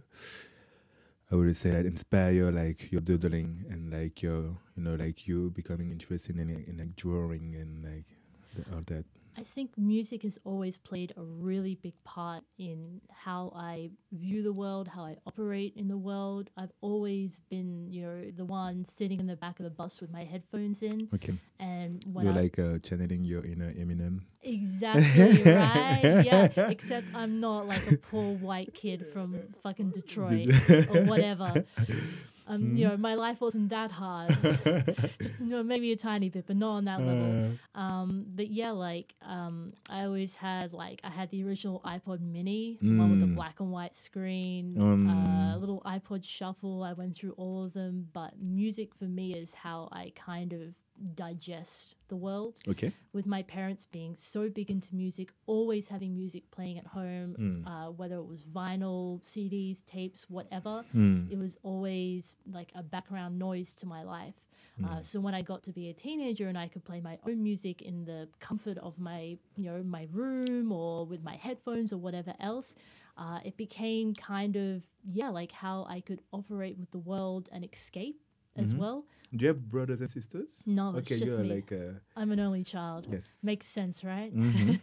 I would say that inspire your like your doodling and like your you know like you becoming interested in in like drawing and like the, all that. I think music has always played a really big part in how I view the world, how I operate in the world. I've always been, you know, the one sitting in the back of the bus with my headphones in. Okay. And when You're I like uh, channeling your inner Eminem. exactly right, yeah. Except I'm not like a poor white kid from fucking Detroit or whatever. Um, you know, my life wasn't that hard. Just, you know, maybe a tiny bit, but not on that level. Uh, Um, but yeah, like um, I always had like I had the original iPod Mini, the one with the Mm. black and white screen, Um. uh, little iPod Shuffle. I went through all of them, but music for me is how I kind of digest the world. Okay. With my parents being so big into music, always having music playing at home, Mm. uh, whether it was vinyl, C Ds, tapes, whatever. Mm. It was always like a background noise to my life. Uh, Mm. so when I got to be a teenager and I could play my own music in the comfort of my, you know, my room or with my headphones or whatever else, uh, it became kind of yeah, like how I could operate with the world and escape as Mhm. well. Do you have brothers and sisters? No, it's Okay, just you're me. like uh, I'm an only child. yes. Makes sense, right? Mhm.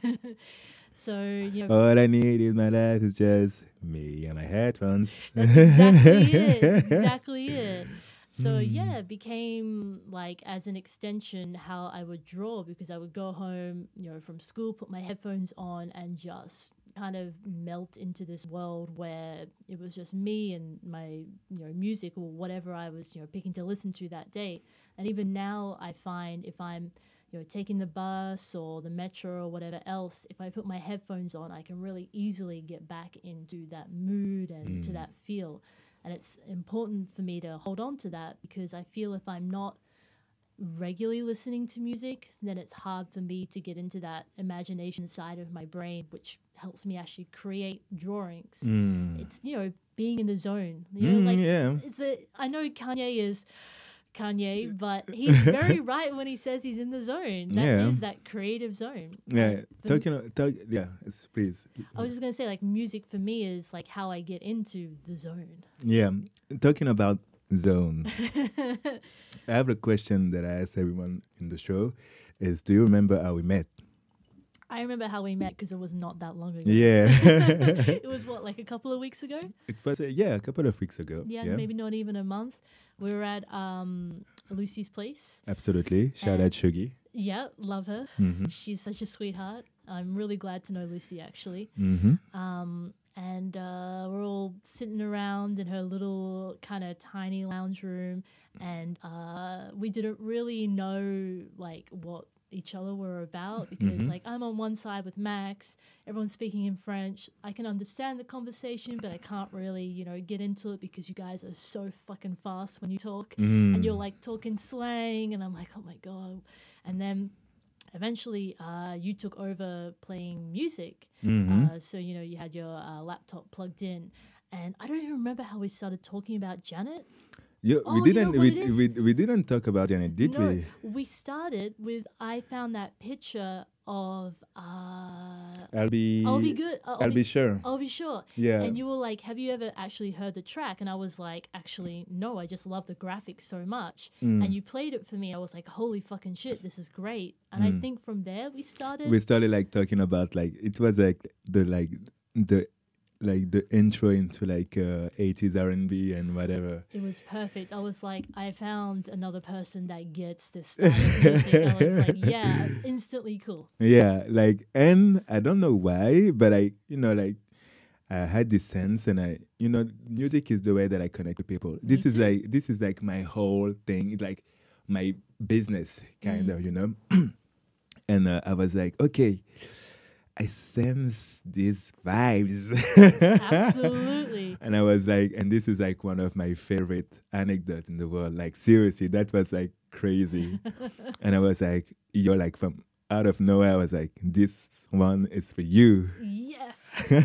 So you know, All I need in my life is just me and my headphones. that's exactly it. It's exactly it. So Mm. yeah, it became like as an extension how I would draw because I would go home, you know, from school, put my headphones on, and just kind of melt into this world where it was just me and my, you know, music or whatever I was, you know, picking to listen to that day. And even now, I find if I'm you know, taking the bus or the metro or whatever else, if I put my headphones on, I can really easily get back into that mood and to Mm. that feel. And it's important for me to hold on to that because I feel if I'm not regularly listening to music, then it's hard for me to get into that imagination side of my brain, which helps me actually create drawings. Mm. It's, you know, being in the zone. You know, Mm, like yeah. it's the I know Kanye is Kanye, but he's very right when he says he's in the zone. That is Yeah. that creative zone. Yeah. And for m- Talking. o- Talk, yeah. It's, please. I was just gonna say, like, music for me is like how I get into the zone. Yeah. Talking about zone. I have a question that I ask everyone in the show: Is do you remember how we met? I remember how we met because it was not that long ago. Yeah. It was what, like a couple of weeks ago? It was uh, yeah, a couple of weeks ago. Yeah, maybe not even a month. We were at um, Lucy's place. Absolutely. Shout And- out Shugi. Yeah, love her. Mm-hmm. She's such a sweetheart. I'm really glad to know Lucy actually. Mm-hmm. Um, and uh, we're all sitting around in her little kind of tiny lounge room, and uh, we didn't really know like what each other were about because, Mhm. like, I'm on one side with Max, everyone's speaking in French. I can understand the conversation, but I can't really, you know, get into it because you guys are so fucking fast when you talk, Mm. and you're like talking slang, and I'm like, oh my god. And then eventually, uh, you took over playing music. Mhm. Uh, so you know, you had your uh, laptop plugged in, and I don't even remember how we started talking about Janet. You, Oh, we you know didn't what we, it is? we we didn't talk about Janet, did No, we? we started with I found that picture of uh I'll be I'll be good. Uh, I'll, I'll be sure. I'll be sure. Yeah. And you were like, "Have you ever actually heard the track?" And I was like, "Actually, no. I just love the graphics so much." Mm. And you played it for me. I was like, "Holy fucking shit, this is great!" And I Mm. think from there we started. We started like talking about like it was like the like the like the intro into like uh, eighties R and B and whatever. It was perfect. I was like, I found another person that gets this style of music. I was like, yeah, instantly cool. Yeah, like, and I don't know why, but I, you know, like, I had this sense, and I, you know, music is the way that I connect with people. This is too. like, this is like my whole thing. It's like my business, kind Mm. of, you know. And uh, I was like, okay, I sense these vibes. Absolutely. And I was like, and this is like one of my favorite anecdotes in the world. Like, seriously, that was like crazy. And I was like, you're like from out of nowhere. I was like, this one is for you. Yes.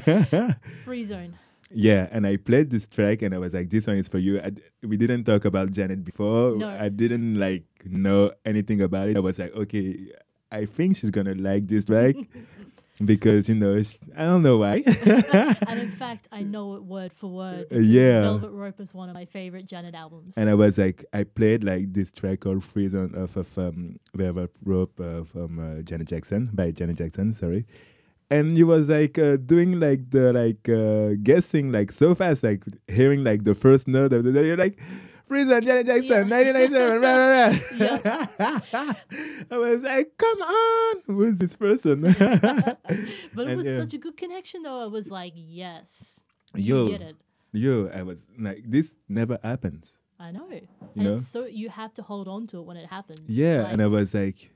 Free zone. Yeah, and I played this track, and I was like, "This one is for you." I d we didn't talk about Janet before. No. I didn't like know anything about it. I was like, "Okay, I think she's gonna like this track because you know it's, I don't know why." And in fact, I know it word for word. Uh, Because yeah. Velvet Rope is one of my favorite Janet albums. And I was like, I played like this track called "Freeze" on off of um, Velvet Rope uh, from uh, Janet Jackson by Janet Jackson. Sorry. And you was like uh, doing like the like uh, guessing like so fast, like hearing like the first note of the day. You're like, "Freeze on Janet Jackson, Yeah. nineteen ninety-seven." Blah, blah, blah. I was like, "Come on, who's this person?" But it And, was yeah. such a good connection, though. I was like, yes, Yo, you get it. yo, I was like, this never happens. I know. You and know? it's so you have to hold on to it when it happens. It's Yeah, like, and I was like,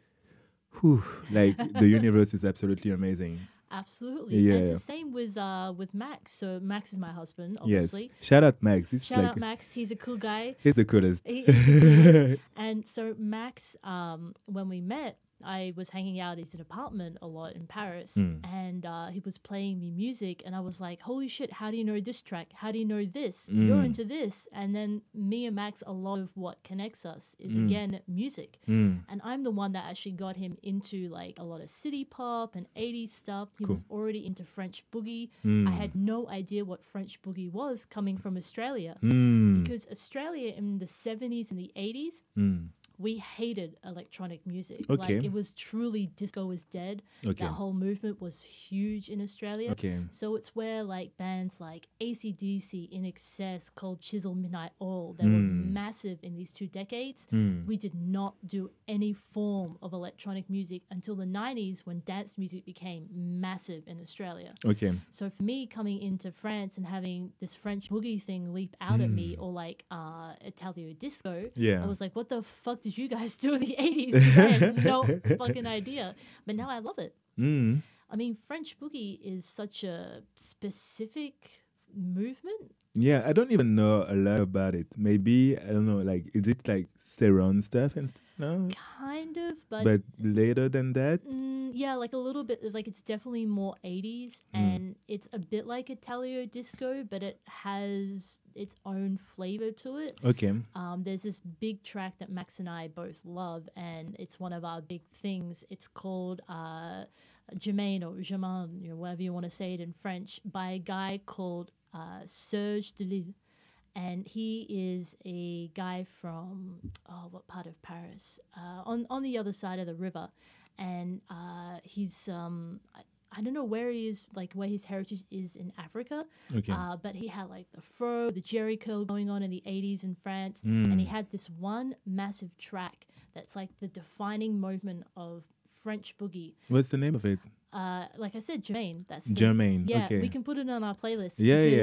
whew, like the universe is absolutely amazing. absolutely. And it's Yeah. the same with uh with Max. So Max is my husband, Yes. obviously. Shout out Max. This Shout is like, out Max. He's a cool guy. he's the coolest. He is the coolest. And so Max, um, when we met, I was hanging out at his apartment a lot in Paris, Mm. and uh, he was playing me music, and I was like, "Holy shit! How do you know this track? How do you know this? You're Mm. into this." And then me and Max, a lot of what connects us is Mm. again music, Mm. and I'm the one that actually got him into like a lot of city pop and eighties stuff. He Cool. was already into French boogie. Mm. I had no idea what French boogie was coming from Australia. Mm. Because Australia in the seventies and the eighties, Mm. we hated electronic music. Okay. Like it was truly disco is dead. Okay. That whole movement was huge in Australia. Okay. So it's where like bands like A C D C, In Excess, Cold Chisel, Midnight Oil, they Mm. were massive in these two decades. Mm. We did not do any form of electronic music until the nineties when dance music became massive in Australia. Okay. So for me coming into France and having this French boogie thing leap out at me, Mm. or like uh, Italio disco, Yeah. I was like, what the fuck did you guys do in the eighties? I had no fucking idea. But now I love it. Mm. I mean, French boogie is such a specific movement. Yeah, I don't even know a lot about it. Maybe I don't know. Like, is it like Ceron stuff and stuff? No, Kind of, but, but later than that. mm, yeah, like a little bit. Like it's definitely more eighties, Mm. and it's a bit like Italio disco, but it has its own flavor to it. Okay. Um, there's this big track that Max and I both love, and it's one of our big things. It's called uh, Germain or Germain, you know, whatever you want to say it in French, by a guy called uh, Serge Delille. And he is a guy from, oh, what part of Paris? Uh, on, on the other side of the river. And uh, he's, um, I, I don't know where he is, like where his heritage is in Africa. Okay. Uh, but he had like the fro, the Jerry curl going on in the eighties in France. And he Mm. had this one massive track that's like the defining moment of French boogie. What's the name of it? Uh, like I said, Jermaine. That's the, Jermaine. Yeah, Okay. we can put it on our playlist. Yeah, because yeah.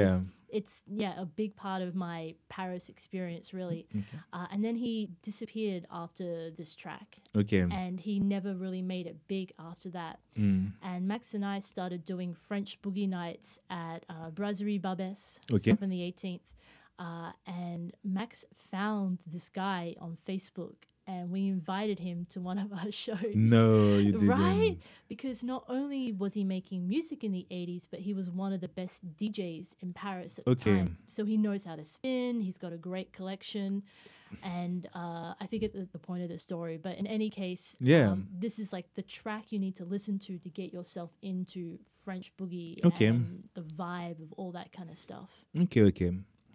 it's yeah a big part of my Paris experience really. Okay. Uh, and then he disappeared after this track, Okay. and he never really made it big after that. Mm. And Max and I started doing French boogie nights at uh, Brasserie Barbès, Okay. up in the eighteenth. Uh, and Max found this guy on Facebook, and we invited him to one of our shows. No, you didn't. Right? Because not only was he making music in the eighties, but he was one of the best D Js in Paris at the Okay. time. So he knows how to spin, he's got a great collection. And uh, I forget the, the point of the story, but in any case, Yeah. um, this is like the track you need to listen to to get yourself into French boogie Okay. and the vibe of all that kind of stuff. Okay, okay.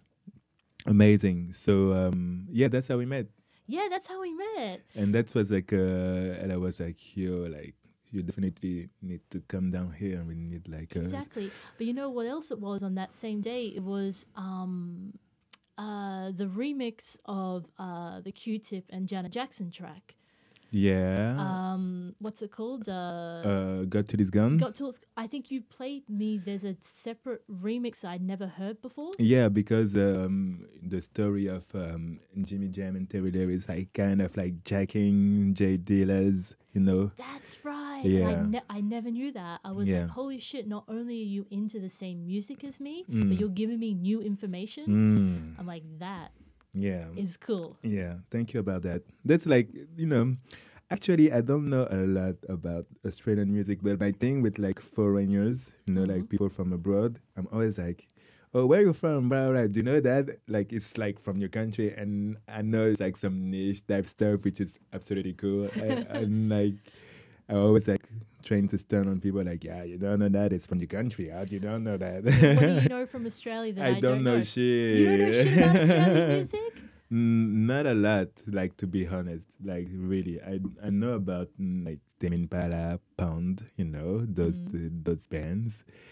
Amazing. So um yeah, that's how we met. Yeah, that's how we met. And that was like uh and I was like, yo, like you definitely need to come down here and we need like uh, Exactly. But you know what else it was on that same day? It was um, uh, the remix of uh, the Q-Tip and Janet Jackson track. yeah. Um, what's it called? Uh, uh got to this gun. Got to. I think you played me. There's a separate remix I'd never heard before. Yeah, because um, the story of um, Jimmy Jam and Terry Lewis, like kind of like jacking J Dealers, you know. That's right. And I, Yeah. ne- I never knew that. I was Yeah. like, holy shit, not only are you into the same music as me, Mm. but you're giving me new information. Mm, I'm like, that yeah. is cool. Yeah, thank you about that. That's like, you know, actually, I don't know a lot about Australian music, but my thing with like foreigners, you know, like Mhm. people from abroad, I'm always like, oh, where you from, blah, blah, do you know that? Like, it's like from your country, and I know it's like some niche type stuff, which is absolutely cool. I, I'm like, I always like trying to stun on people like, yeah, you don't know that, it's from your country, how do you don't know that? What do you know from Australia that I, I don't know know? shit. You don't know shit about Australian music? Mm, not a lot, like to be honest. Like really, I I know about mm, like Tame Impala, Pound, you know those Mm. th- those bands.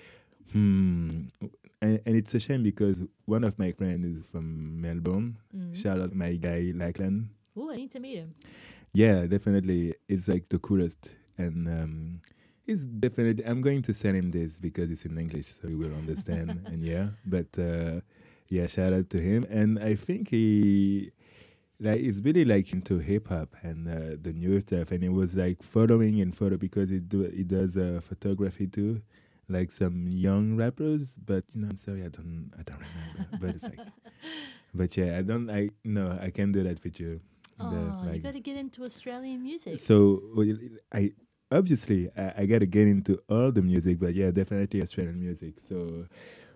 Hmm. And, and it's a shame because one of my friends is from Melbourne. Mm. Shout out my guy Lachlan. Oh, I need to meet him. Yeah, definitely, it's like the coolest, and um, it's definitely. I'm going to send him this because it's in English, so he will understand. And yeah, but. Uh, yeah, shout out to him. And I think he like he's really like into hip hop and uh, the new stuff. And he was like following and photo because he do he does uh, photography too, like some young rappers. But you know, I'm sorry, I don't I don't remember. But it's like, but yeah, I don't I no I can't do that with you. The, Oh, you like- got to get into Australian music. so well, I obviously I, I gotta get into all the music, but yeah, definitely Australian music. So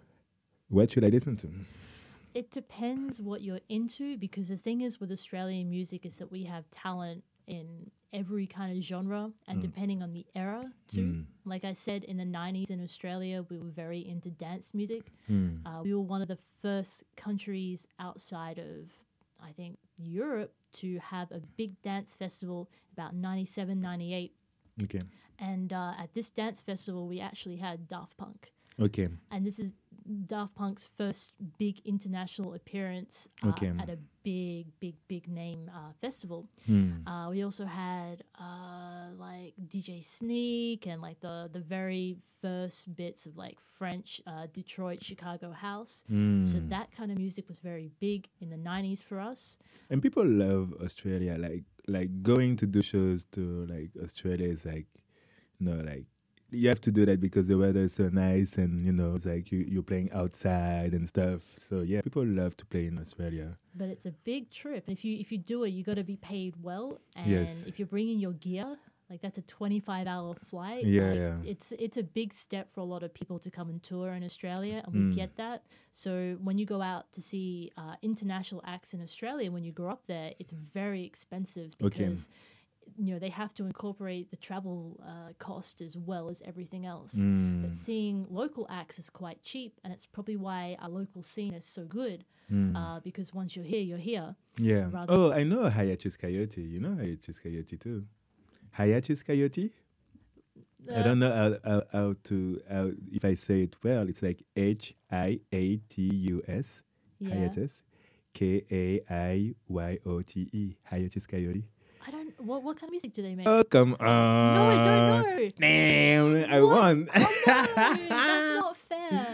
what should I listen to? It depends what you're into, because the thing is with Australian music is that we have talent in every kind of genre, and Mm. depending on the era too. Mm. Like I said, in the nineties in Australia, we were very into dance music. Hmm. Uh, we were one of the first countries outside of, I think, Europe to have a big dance festival about ninety-seven, ninety-eight. Okay. And uh, at this dance festival, we actually had Daft Punk. Okay. And this is Daft Punk's first big international appearance uh, Okay. at a big, big, big name uh, festival. Hmm. Uh, we also had uh, like D J Sneak and like the the very first bits of like French uh, Detroit, Chicago house. So Hmm. that kind of music was very big in the nineties for us. And people love Australia. Like like going to do shows to like Australia is like, you know, like you have to do that because the weather is so nice and you know it's like you you're playing outside and stuff. So yeah, people love to play in Australia. But it's a big trip. And if you if you do it, you got to be paid well. And Yes. if you're bringing your gear, like that's a twenty-five hour flight. Yeah, like, yeah. It's it's a big step for a lot of people to come and tour in Australia, and we Mm. get that. So when you go out to see uh, international acts in Australia, when you grow up there, it's very expensive Okay. because you know they have to incorporate the travel uh, cost as well as everything else. Hmm. But seeing local acts is quite cheap, and it's probably why our local scene is so good. Hmm. Uh, because once you're here, you're here. Yeah. rather- Oh, I know Hayachis Coyote. You know Hayachis Coyote too. Hayachis Coyote. I Uh, don't know how, how, how to how, if I say it well. It's like H I A T U S. Yeah. Hiatus. K A I Y O T E. Hiatus Coyote. I don't. What what kind of music do they make? Oh, come on. no, I don't know. Damn, I What? won. Oh, no, that's not fair.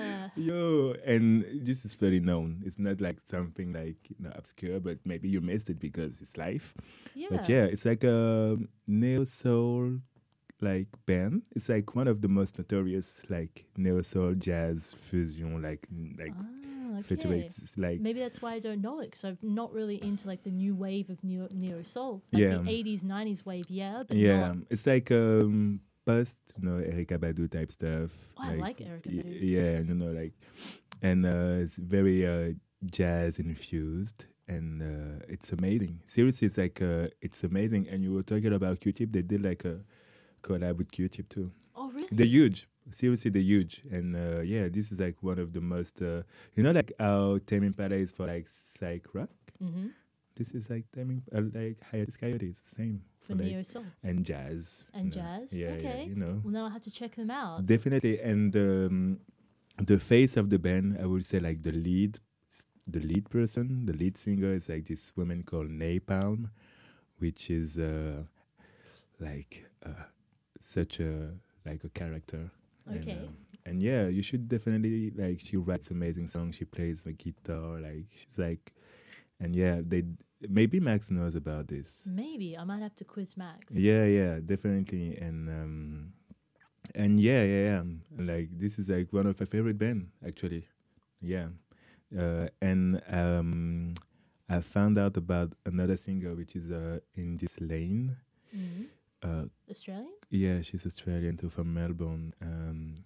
Yo, and this is very known. It's not like something like you know obscure, but maybe you missed it because it's life. But Yeah. yeah, it's like a neo soul like band. It's like one of the most notorious like neo soul jazz fusion like n- like Ah, okay. features. It's like Maybe that's why I don't know it because I'm not really into like the new wave of neo neo soul, like yeah, the eighties, nineties wave, yeah, but yeah. not. It's like um post you know Erykah Badu type stuff. Oh, I Like like Erica y- Badu. yeah, you know like and uh, it's very uh, jazz infused and uh, it's amazing. Seriously, it's like uh, it's amazing. And you were talking about Q-Tip. They did like a collab with Q-Tip too. Oh, They're really? huge. Seriously, they're huge. And uh, yeah, this is like one of the most. Uh, you know, like how Tame Impala is for like psych rock. Mm-hmm. This is like Tame Imp- uh, like Hiatus Coyotes, same For for like neo soul and jazz. and you know. jazz. Yeah, yeah, Okay. you know. Well, now I have to check them out. Definitely, and um, the face of the band, I would say, like the lead, the lead person, the lead singer is like this woman called Napalm, which is uh, like uh, such a like a character. And, Okay. um, and yeah, you should definitely like. She writes amazing songs. She plays the guitar. Like she's like, and yeah, they maybe Max knows about this. Maybe I might have to quiz Max. Yeah, yeah, definitely, and um, and yeah, yeah, yeah. um, Like this is like one of my favorite band actually. Yeah, uh, and um, I found out about another singer which is uh in this lane. hmm Uh, Australian? yeah, she's Australian too from Melbourne. Um,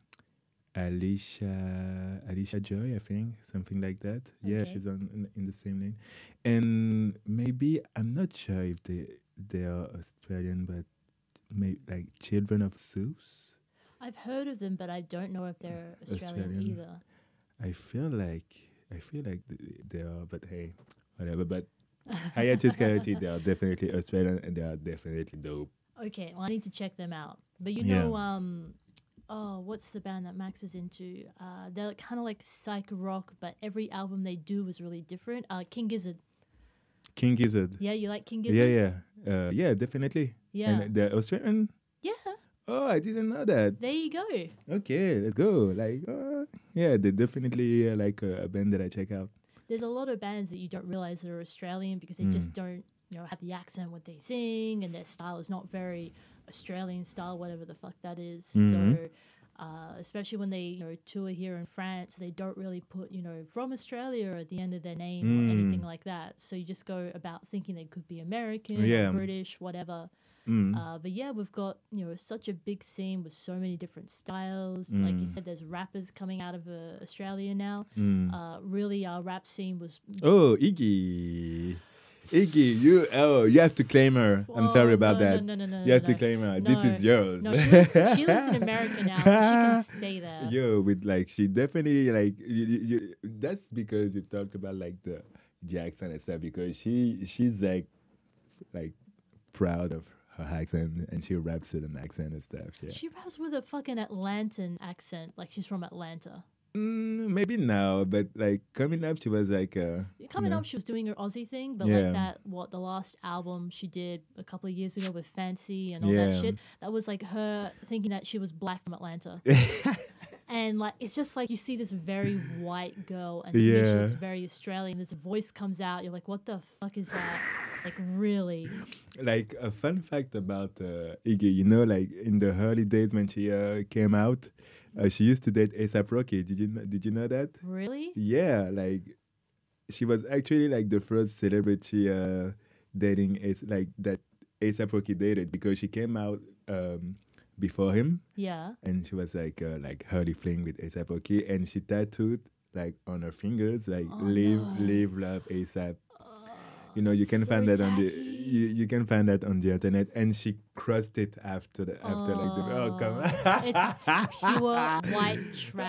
Alicia Alicia Joy, I think, something like that. Yeah, Okay. she's on in, in the same lane, and maybe I'm not sure if they they are Australian, but maybe like Children of Zeus. I've heard of them, but I don't know if they're Australian Australian. either. I feel like I feel like th- they are, but hey, whatever. But Hiatus Coyote, they are definitely Australian, and they are definitely dope. Okay, well, I need to check them out. But you Yeah. know, um, oh, what's the band that Max is into? Uh, they're kind of like psych rock, but every album they do is really different. Uh, King Gizzard. King Gizzard. Yeah, you like King Yeah, Gizzard? yeah, uh, yeah, definitely. Yeah. And they're Australian. Yeah, Oh, I didn't know that. there you go. Okay, let's go. Like, uh, yeah, they're definitely uh, like uh, a band that I check out. There's a lot of bands that you don't realize that are Australian because they Mm. just don't, you know, have the accent what they sing, and their style is not very Australian style, whatever the fuck that is. Mhm. So, uh, especially when they, you know, tour here in France, they don't really put, you know, from Australia at the end of their name or anything Mm. like that. So you just go about thinking they could be American Yeah. or British, whatever. Mm. Uh, but yeah, we've got, you know, such a big scene with so many different styles. Like you Mm. said, there's rappers coming out of uh, Australia now. Mm. Uh, really, our rap scene was. Oh, Iggy. Iggy, you oh, you have to claim her. I'm sorry Oh, about no, that. No, no, no, no, You have no, to claim her. no. This is yours. No, she lives, she lives in America now, so she can stay there. Yo, with like she definitely like you, you, you, that's because you talked about like the Jackson and stuff because she she's like like proud of her accent and she raps with an accent and stuff. Yeah. She raps with a fucking Atlantan accent, like she's from Atlanta. Mm, maybe now, but like coming up, she was like uh, Coming know. up, she was doing her Aussie thing, but Yeah. like that, what the last album she did a couple of years ago with Fancy and all Yeah. that shit, that was like her thinking that she was black from Atlanta. And like it's just like you see this very white girl, and to me she Yeah. looks very Australian. This voice comes out, you're like, what the fuck is that? Like really? Like a fun fact about uh, Iggy, you know, like in the early days when she uh, came out, uh, she used to date ASAP Rocky. Did you kn- did you know that? Really? Yeah, like she was actually like the first celebrity uh, dating As- like that ASAP Rocky dated because she came out um, before him, Yeah. and she was like uh, like early fling with ASAP Rocky, and she tattooed like on her fingers like Oh, live no. live love ASAP. Oh, You know, you can so find that on the tacky. you, you can find that on the internet, and she crossed it after the after like the oh come on. It's pure white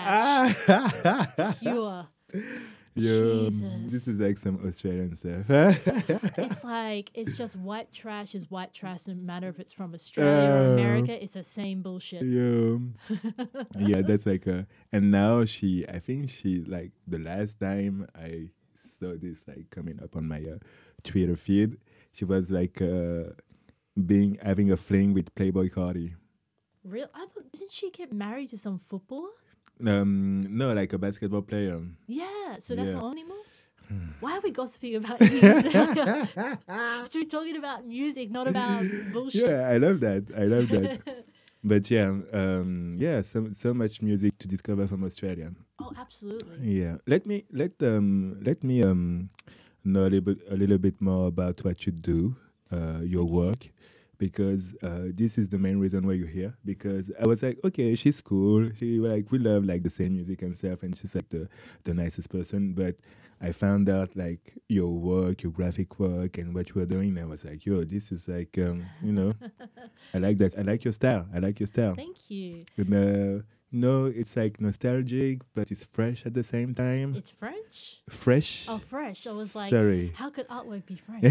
trash. Pure. Yo, Jesus. this is like some Australian stuff. It's like it's just white trash is white trash, no matter if it's from Australia or Uh, America. It's the same bullshit. Yo, yeah, that's like a. And now she, I think she like the last time I saw this like coming up on my uh, Twitter feed, she was like uh, being having a fling with Playboy Cardi. Real? I thought didn't she get married to some footballer? Um, no, like a basketball player. Yeah, so that's Yeah. not on anymore. Why are we gossiping about music? Should be talking about music, not about bullshit. Yeah, I love that. I love that. But yeah, um, yeah, so so much music to discover from Australia. Oh, absolutely. Yeah, let me let um let me um know a little bit a little bit more about what you do, uh, your Okay. work, because uh, this is the main reason why you're here. Because I was like, okay, she's cool. She like we love like the same music and stuff, and she's like the the nicest person. But I found out like your work, your graphic work, and what you were doing. And I was like, yo, this is like um you know, I like that. I like your style. I like your style. Thank you. And, uh, no, it's like nostalgic, but it's fresh at the same time. It's French? Fresh. Oh, fresh. I was like, Sorry. how could artwork be French?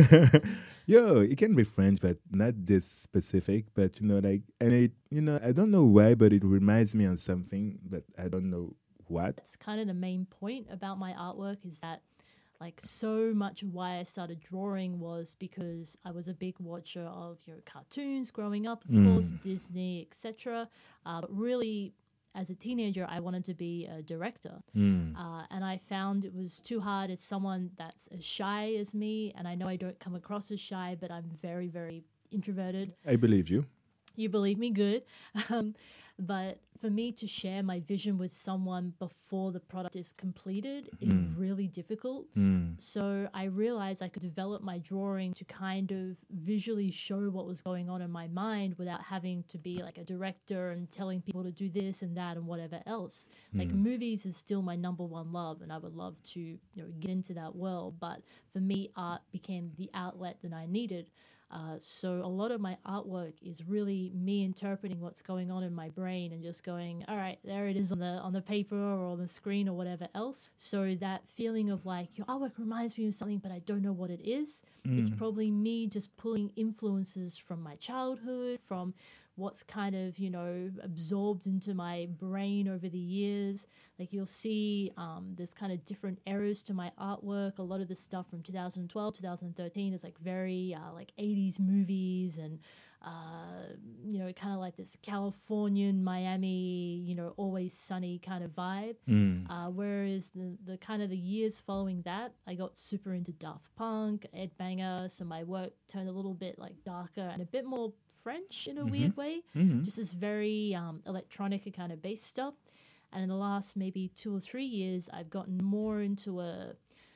Yo, it can be French, but not this specific. But you know, like, and it, you know, I don't know why, but it reminds me of something, but I don't know what. That's kind of the main point about my artwork is that like so much of why I started drawing was because I was a big watcher of you know cartoons growing up, of course, Mm. Disney, et cetera. Uh, but really, as a teenager, I wanted to be a director, Mm. uh, and I found it was too hard as someone that's as shy as me. And I know I don't come across as shy, but I'm very, very introverted. I believe you. You believe me, good. Um, but for me to share my vision with someone before the product is completed is Mm. really difficult. Mm. So I realized I could develop my drawing to kind of visually show what was going on in my mind without having to be like a director and telling people to do this and that and whatever else. Like Mm. movies is still my number one love, and I would love to you know get into that world. But for me, art became the outlet that I needed. Uh, so a lot of my artwork is really me interpreting what's going on in my brain and just going, all right, there it is on the on the paper or on the screen or whatever else. So that feeling of like your artwork reminds me of something, but I don't know what it is. It's Mm. probably me just pulling influences from my childhood, from what's kind of you know absorbed into my brain over the years. Like you'll see um, there's kind of different eras to my artwork. A lot of the stuff from two thousand twelve, two thousand thirteen is like very uh, like eighties movies and uh, you know kind of like this Californian Miami you know always sunny kind of vibe. Mm. Uh, whereas the, the kind of the years following that, I got super into Daft Punk, Ed Banger, so my work turned a little bit like darker and a bit more French in a Mhm. weird way. Mhm. Just this very um, electronica kind of bass stuff. And in the last maybe two or three years, I've gotten more into a,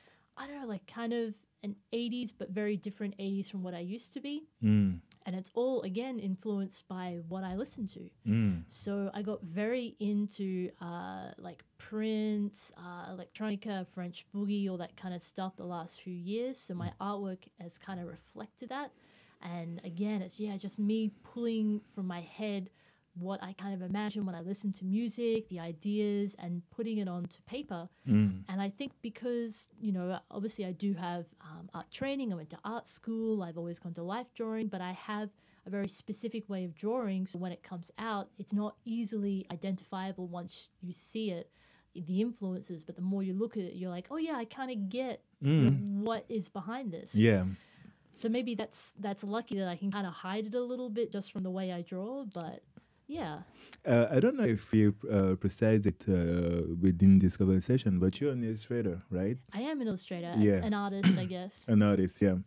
I don't know, like kind of an eighties, but very different eighties from what I used to be. Mm. And it's all, again, influenced by what I listen to. Mm. So I got very into uh, like Prince, uh, electronica, French boogie, all that kind of stuff the last few years. So my artwork has kind of reflected that. And again, it's yeah, just me pulling from my head what I kind of imagine when I listen to music, the ideas, and putting it onto paper. Mm. And I think because, you know, obviously I do have um, art training, I went to art school, I've always gone to life drawing, but I have a very specific way of drawing. So when it comes out, it's not easily identifiable once you see it, the influences. But the more you look at it, you're like, oh yeah, I kind of get you know, Mm. what is behind this. Yeah. So maybe that's that's lucky that I can kind of hide it a little bit just from the way I draw. But yeah, Uh, I don't know if you uh, precise it uh, within this conversation, but you're an illustrator, right? I am an illustrator, Yeah. an artist, I guess. An artist, yeah.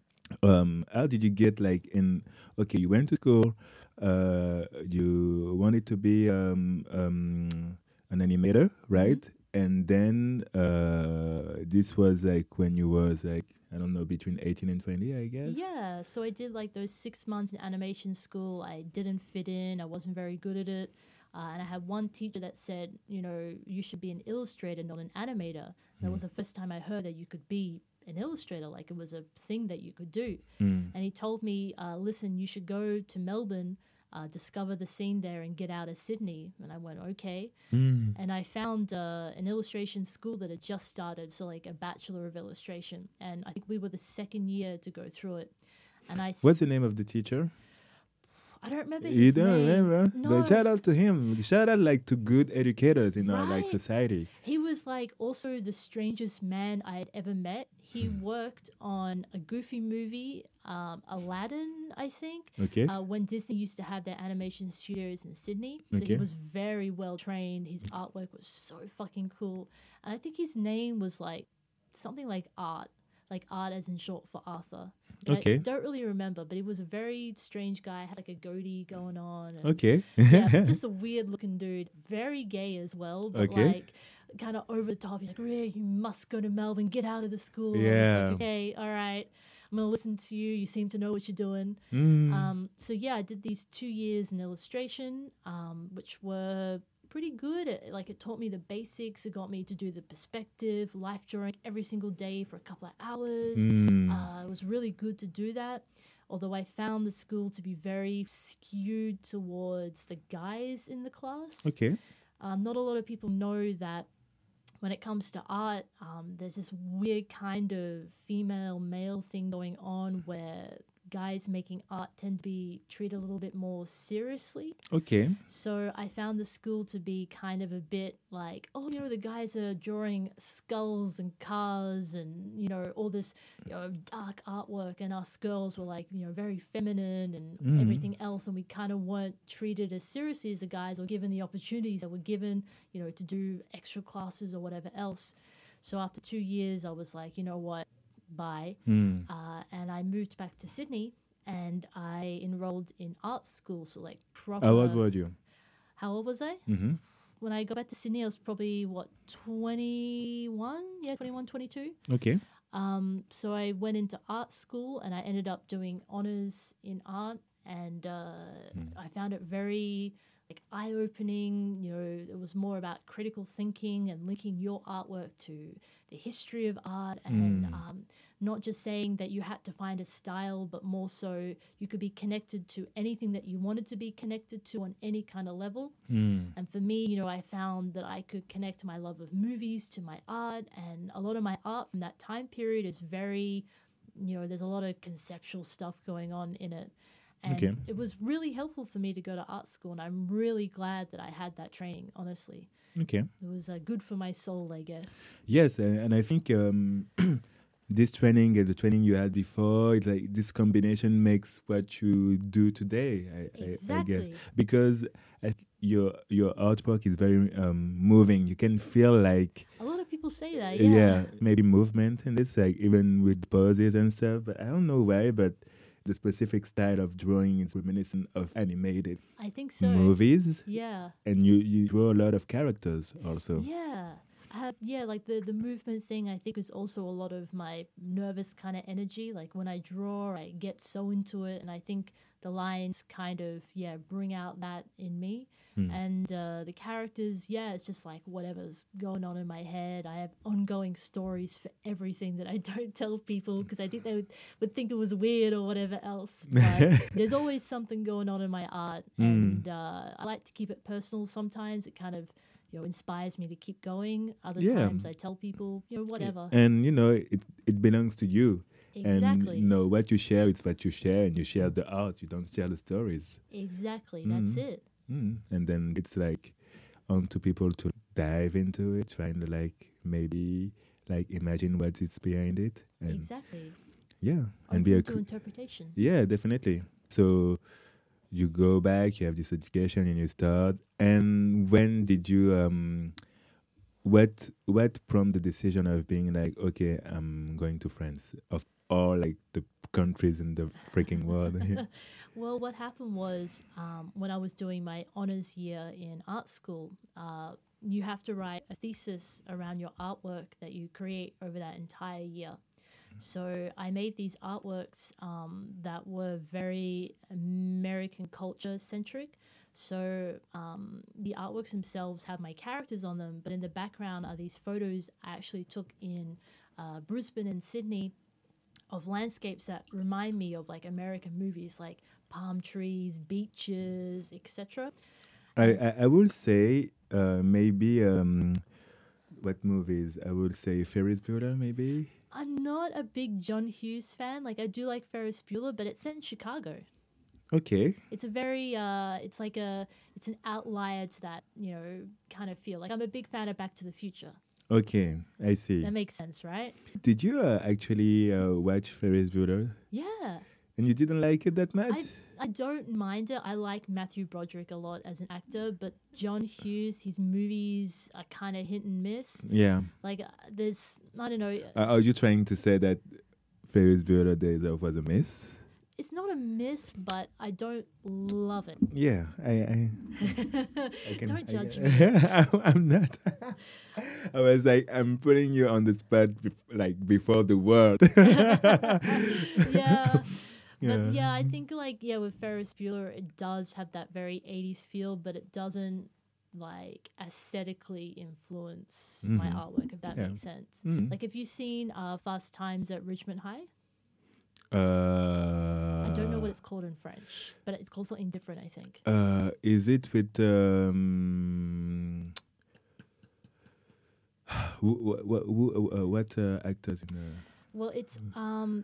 Um, how did you get like in? Okay, you went to school. Uh, you wanted to be um, um, an animator, right? And then uh, this was like when you was like I don't know between eighteen and twenty, I guess. Yeah, so I did like those six months in animation school. I didn't fit in. I wasn't very good at it. Uh, and I had one teacher that said, you know, you should be an illustrator, not an animator. That was the first time I heard that you could be an illustrator, like it was a thing that you could do. Mm. And he told me, uh, listen, you should go to Melbourne, uh, discover the scene there, and get out of Sydney. And I went, okay. Mm. And I found uh, an illustration school that had just started, so like a bachelor of illustration. And I think we were the second year to go through it. And I, s- What's the name of the teacher? I don't remember his You don't name. remember? No. But shout out to him. Shout out like to good educators in our like Right. society. He was like also the strangest man I had ever met. He Hmm. worked on a Goofy movie, um, Aladdin, I think, Okay. uh, when Disney used to have their animation studios in Sydney. So he Okay. was very well trained. His artwork was so fucking cool. And I think his name was like something like Art, like Art as in short for Arthur. But I Okay. don't really remember, but he was a very strange guy, had like a goatee going on. And Okay. yeah, just a weird looking dude, very gay as well, but Okay. like kind of over the top. He's like, Rhea, you must go to Melbourne, get out of the school. I was Yeah. like, okay, all right, I'm gonna listen to you. You seem to know what you're doing. Mm. Um, so yeah, I did these two years in illustration, um, which were pretty good. It, like it taught me the basics. It got me to do the perspective, life drawing every single day for a couple of hours. Mm. Uh, it was really good to do that. Although I found the school to be very skewed towards the guys in the class. Okay. Um, not a lot of people know that when it comes to art, um, there's this weird kind of female male thing going on where guys making art tend to be treated a little bit more seriously. Okay. So I found the school to be kind of a bit like, oh, you know, the guys are drawing skulls and cars and, you know, all this, you know, dark artwork. And us girls were like, you know, very feminine and Mhm. everything else. And we kind of weren't treated as seriously as the guys or given the opportunities that were given, you know, to do extra classes or whatever else. So after two years, I was like, you know what, bye. Mm. Uh, and I moved back to Sydney and I enrolled in art school. So like proper. How old were you? How old was I? Mm-hmm. When I got back to Sydney, I was probably, what, twenty-one? Yeah, twenty-one, twenty-two. Okay. Um, so I went into art school and I ended up doing honors in art. And uh, Mm. I found it very like eye-opening. You know, it was more about critical thinking and linking your artwork to the history of art and Mm. um, not just saying that you had to find a style, but more so you could be connected to anything that you wanted to be connected to on any kind of level. Mm. And for me, you know, I found that I could connect my love of movies to my art. And a lot of my art from that time period is very, you know, there's a lot of conceptual stuff going on in it. And Okay. it was really helpful for me to go to art school. And I'm really glad that I had that training, honestly. Okay. It was uh, good for my soul, I guess. Yes, and, and I think um, this training and the training you had before, it's like this combination makes what you do today. I, I, I guess Exactly. because I, th- your your artwork is very um, moving. You can feel like A lot of people say that, yeah. yeah. maybe movement in this, like even with poses and stuff. But I don't know why, but the specific style of drawing is reminiscent of animated I think so. movies, Yeah. and you you draw a lot of characters also. Yeah. I have yeah, like the the movement thing I think is also a lot of my nervous kind of energy. Like when I draw, I get so into it and I think the lines kind of yeah, bring out that in me. Hmm. And uh, the characters, yeah, it's just like whatever's going on in my head. I have ongoing stories for everything that I don't tell people because I think they would, would think it was weird or whatever else. But there's always something going on in my art, Mm. and uh, I like to keep it personal. Sometimes it kind of you know inspires me to keep going. Other Yeah. times I tell people, you know, whatever. And you know, it it belongs to you. And Exactly. you know what you share, it's what you share, and you share the art. You don't share the stories. Exactly. That's Mm. it. Mm. And then it's like on to people to dive into it, trying to like maybe like imagine what it's behind it, and Exactly. yeah, and be Open a to cr- interpretation. yeah, definitely. So you go back, you have this education, and you start. And when did you um? What what prompted the decision of being like, okay, I'm going to France of all like the countries in the freaking world? Well, what happened was um, when I was doing my honors year in art school, uh, you have to write a thesis around your artwork that you create over that entire year. So I made these artworks um, that were very American culture centric. So um, the artworks themselves have my characters on them, but in the background are these photos I actually took in uh, Brisbane and Sydney of landscapes that remind me of like American movies, like palm trees, beaches, et cetera. I, I I will say uh, maybe um, what movies? I would say Ferris Bueller, maybe. I'm not a big John Hughes fan. Like I do like Ferris Bueller, but it's set in Chicago. Okay. It's a very uh it's like a it's an outlier to that, you know, kind of feel. Like I'm a big fan of Back to the Future. Okay. I see. That makes sense, right? Did you uh, actually uh, watch Ferris Bueller? Yeah. And you didn't like it that much? I I don't mind it. I like Matthew Broderick a lot as an actor, but John Hughes, his movies are kind of hit and miss. Yeah. Like uh, there's I don't know. Uh, are you trying to say that Ferris Bueller Days Off was a miss? It's not a miss, but I don't love it. Yeah, I. I, I can, Don't I judge can- me. I'm, I'm not. I was like, I'm putting you on the spot, bef- like before the world. Yeah. Yeah. But yeah, I think like yeah, with Ferris Bueller, it does have that very eighties feel, but it doesn't like aesthetically influence my Mhm. artwork, if that Yeah. makes sense. Mm. Like, have you seen uh, Fast Times at Richmond High? Uh, I don't know what it's called in French, but it's called something different, I think. Uh, is it with um, who, who, who, uh, what uh, actors in? Uh, Well, it's um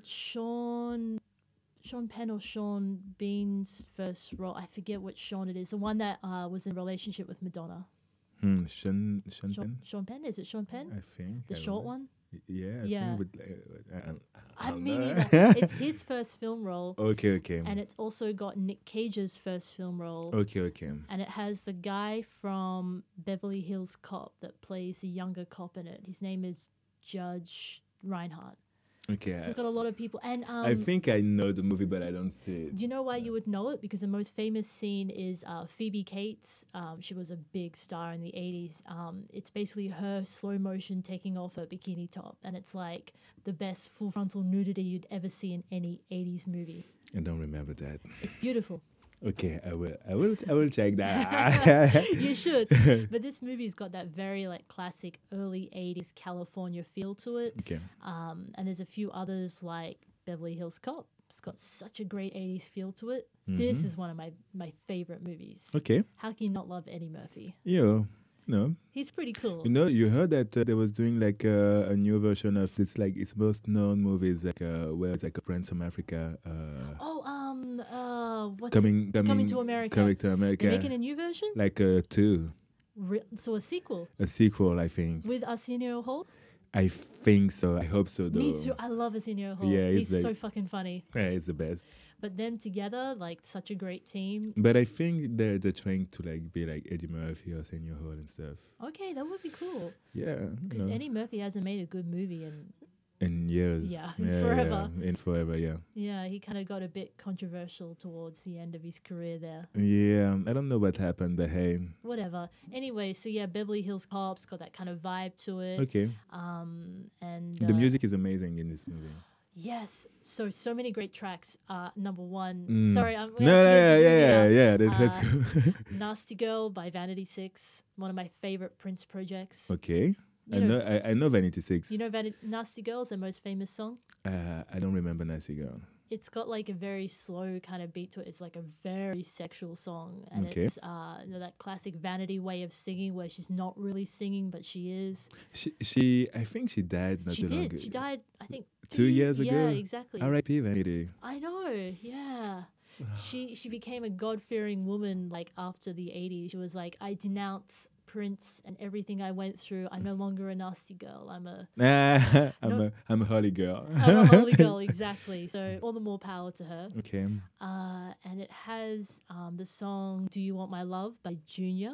Sean Sean Penn or Sean Bean's first role. I forget which Sean it is. The one that uh, was in a relationship with Madonna. hmm, Sean, Sean Sean, Penn, Sean Penn? Is it Sean Penn? I think. The I don't short know. one? Y- Yeah. I Yeah. Think with, uh, I, I, I don't mean, know. either. It's his first film role, Okay. Okay. and it's also got Nick Cage's first film role. Okay. Okay. And it has the guy from Beverly Hills Cop that plays the younger cop in it. His name is Judge Reinhardt. Okay. So it's got a lot of people. And um, I think I know the movie, but I don't see it. do you know why you would know it? Because the most famous scene is uh, Phoebe Cates. Um, she was a big star in the eighties. Um, it's basically her slow motion taking off her bikini top. And it's like the best full frontal nudity you'd ever see in any eighties movie. I don't remember that. It's beautiful. Okay, I will. I will. I will check that. You should. But this movie's got that very like classic early eighties California feel to it. Okay. Um, and there's a few others like Beverly Hills Cop. It's got such a great eighties feel to it. This Mhm. is one of my, my favorite movies. Okay. How can you not love Eddie Murphy? Yo. No. He's pretty cool. You know, you heard that uh, they was doing like uh, a new version of this, like its most known movies, like uh, where it's like a Prince from Africa. Uh, Oh, um, uh, what's coming, coming, Coming to America. Coming to America. They're making a new version? like uh, two, Re- so a sequel a sequel, I think. with Arsenio Hall? I think so. I hope so, though. Me too. I love Arsenio Hall. Yeah, he's he's so like- fucking funny. Yeah, it's the best. But them together, like such a great team. But I think they're they're trying to like be like Eddie Murphy or Senior Hall and stuff. Okay, that would be cool. Yeah. Because no. Eddie Murphy hasn't made a good movie in in years. Yeah, in forever. Yeah, in forever, yeah. yeah, he kind of got a bit controversial towards the end of his career there. Yeah, I don't know what happened, but hey. Whatever. Anyway, so yeah, Beverly Hills Cop's got that kind of vibe to it. Okay. Um, and The uh, music is amazing in this movie. Yes, so so many great tracks. Uh, number one. Mm. Sorry, I'm. we No, have to yeah, get yeah, into it yeah, now. yeah. Then Uh, let's go. Nasty Girl by Vanity Six, one of my favorite Prince projects. Okay. I You know, know- I, I know Vanity Six. You know, Van- Nasty Girl is their most famous song. uh, I don't remember Nasty Girl. It's got like a very slow kind of beat to it. It's like a very sexual song, and Okay. it's uh, you know, that classic Vanity way of singing where she's not really singing, but she is. She, she, I think she died not she too long did. ago. She died, I think, Two years Yeah, ago? exactly. R I P Vanity. I know. Yeah. she she became a God fearing woman like after the eighties. She was like, I denounce Prince and everything I went through. I'm no longer a nasty girl. I'm a I'm No. a I'm a holy girl. I'm a holy girl, exactly. So all the more power to her. Okay. Uh, and it has um, the song "Do You Want My Love" by Junior.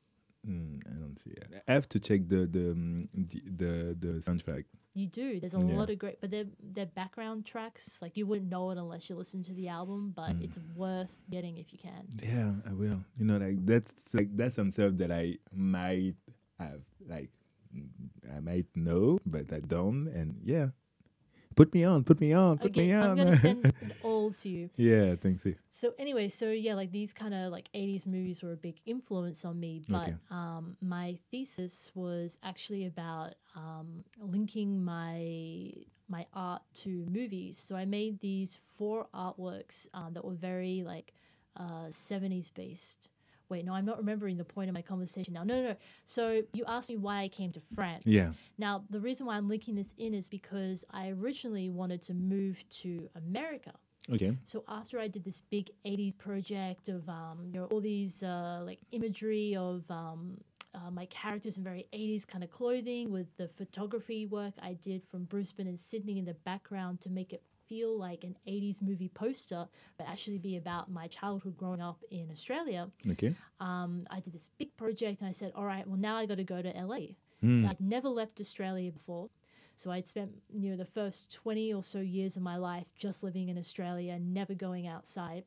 Mm, I don't see it. I have to check the the um, the, the the soundtrack. You do. There's a Yeah. lot of great, but they're they're background tracks. Like you wouldn't know it unless you listen to the album, but Mm. it's worth getting if you can. Yeah, I will. You know, like that's like that's some stuff that I might have, like mm, I might know, but I don't. And yeah, put me on, put me on, put Okay, me on. I'm gonna send it all to you. Yeah, thanks. you. So anyway, so yeah, like these kind of like eighties movies were a big influence on me, but Okay. um, my thesis was actually about um, linking my my art to movies. So I made these four artworks um, that were very like uh, seventies based. Wait, no, I'm not remembering the point of my conversation now. No, no, no. So you asked me why I came to France. Yeah. Now, the reason why I'm linking this in is because I originally wanted to move to America. Okay. So after I did this big eighties project of um, you know, all these uh, like imagery of um, uh, my characters in very eighties kind of clothing with the photography work I did from Brisbane and Sydney in the background to make it feel like an eighties movie poster, but actually be about my childhood growing up in Australia. Okay. Um, I did this big project and I said, all right, well, now I got to go to L A. Mm. I'd never left Australia before. So I'd spent, you know, the first twenty or so years of my life just living in Australia, never going outside.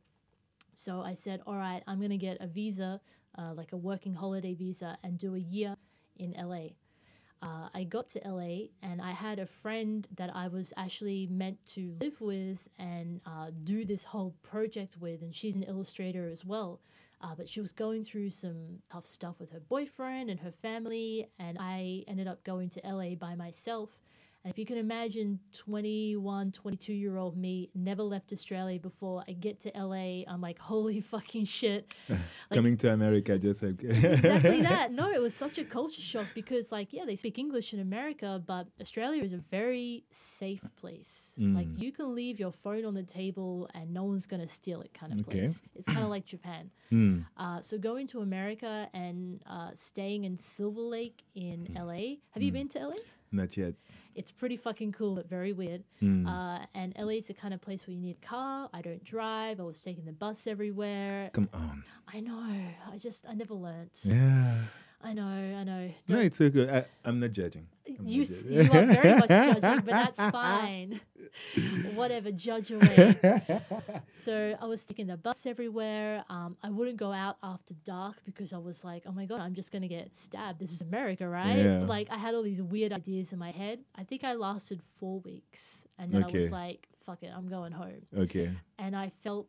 So I said, all right, I'm going to get a visa, uh, like a working holiday visa, and do a year in L A. Uh, I got to L A and I had a friend that I was actually meant to live with and uh, do this whole project with, and she's an illustrator as well. Uh, but she was going through some tough stuff with her boyfriend and her family, and I ended up going to L A by myself. And if you can imagine twenty-one, twenty-two year old me, never left Australia before, I get to L A, I'm like, holy fucking shit. Like, Coming to America, just like exactly that. No, it was such a culture shock because, like, yeah, they speak English in America, but Australia is a very safe place. Mm. Like, you can leave your phone on the table and no one's going to steal it kind of Okay. place. It's kind of like Japan. Mm. Uh, so going to America and uh, staying in Silver Lake in L A. Have you been to L A? Not yet. It's pretty fucking cool, but very weird. Mm. Uh, and L A is the kind of place where you need a car. I don't drive. I was taking the bus everywhere. Come on. I know. I just, I never learnt. Yeah. I know, I know. No, Don't- it's so good. I, I'm not judging. I'm you, not s- judging. you are very much judging, but that's fine. Whatever, judge away. So I was taking the bus everywhere. Um, I wouldn't go out after dark because I was like, oh my God, I'm just going to get stabbed. This is America, right? Yeah. Like, I had all these weird ideas in my head. I think I lasted four weeks. And then I was Okay. like, fuck it, I'm going home. Okay. And I felt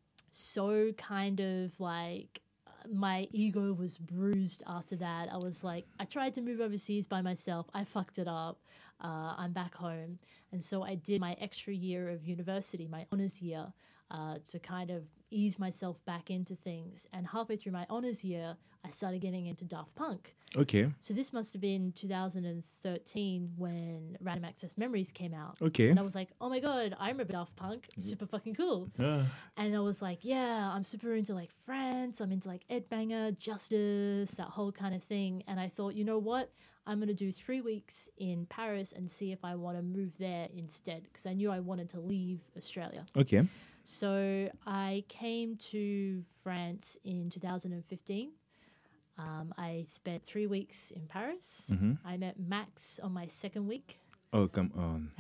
so kind of like my ego was bruised after that. I was like, I tried to move overseas by myself. I fucked it up. Uh, I'm back home. And so I did my extra year of university, my honors year, uh, to kind of ease myself back into things. And halfway through my honors year, I started getting into Daft Punk. Okay. So this must have been two thousand thirteen when Random Access Memories came out. Okay. And I was like, oh my God, I remember Daft Punk. Super fucking cool. Ah. And I was like, yeah, I'm super into like France. I'm into like Ed Banger, Justice, that whole kind of thing. And I thought, you know what? I'm going to do three weeks in Paris and see if I want to move there instead. Because I knew I wanted to leave Australia. Okay. So I came to France in two thousand fifteen. Um, I spent three weeks in Paris. Mhm. I met Max on my second week. Oh, come on.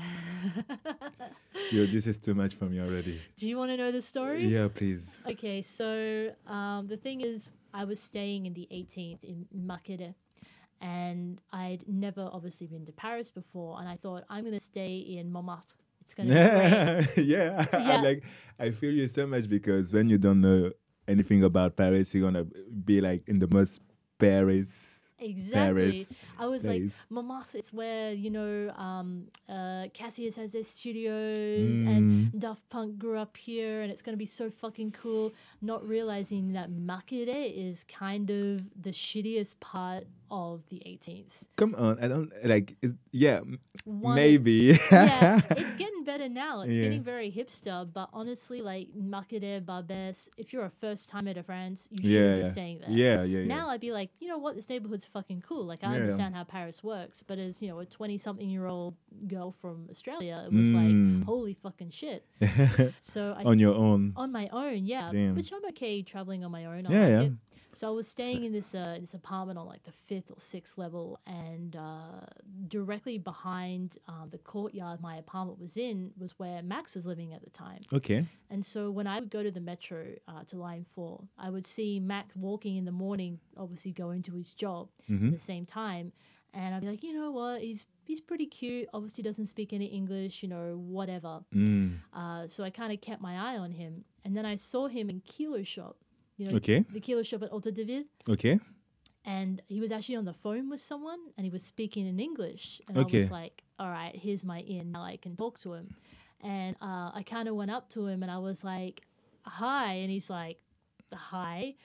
Yo, this is too much for me already. Do you want to know the story? Yeah, please. Okay, so um, the thing is, I was staying in the eighteenth in Maquette, and I'd never obviously been to Paris before, and I thought I'm going to stay in Montmartre. It's going to be great. yeah. I Yeah. like I feel you so much because when you don't know anything about Paris, you're gonna be like in the most Paris. Exactly. Paris I was like, place. Montmartre, it's where, you know, um, uh, Cassius has their studios Mm. and Daft Punk grew up here and it's going to be so fucking cool. Not realizing that Maquette is kind of the shittiest part of the eighteenth. Come on, I don't like. It's, yeah, m- One- maybe. Yeah, it's getting better now. It's Yeah. getting very hipster, but honestly, like Maquette, Barbès, if you're a first timer to France, you yeah, shouldn't yeah. be staying there. yeah, yeah, yeah. Now I'd be like, you know what, this neighborhood's fucking cool. Like I Yeah. understand how Paris works, but as you know, a twenty-something-year-old girl from Australia, it was Mm. like, holy fucking shit. So I on your own. on my own, yeah, Damn. which I'm okay traveling on my own. I Yeah, like yeah. it. So I was staying in this uh, this apartment on like the fifth or sixth level, and uh, directly behind um, the courtyard my apartment was in was where Max was living at the time. Okay. And so when I would go to the metro uh, to line four, I would see Max walking in the morning, obviously going to his job Mhm. at the same time. And I'd be like, you know what, he's he's pretty cute. Obviously doesn't speak any English, you know, whatever. Mm. Uh, so I kind of kept my eye on him. And then I saw him in Kilo Shop, you know, Okay. the Kilo Shop at Alta de Ville. Okay. And he was actually on the phone with someone and he was speaking in English. And I Okay. was like, all right, here's my in. Now I can talk to him. And uh, I kind of went up to him and I was like, hi. And he's like, hi.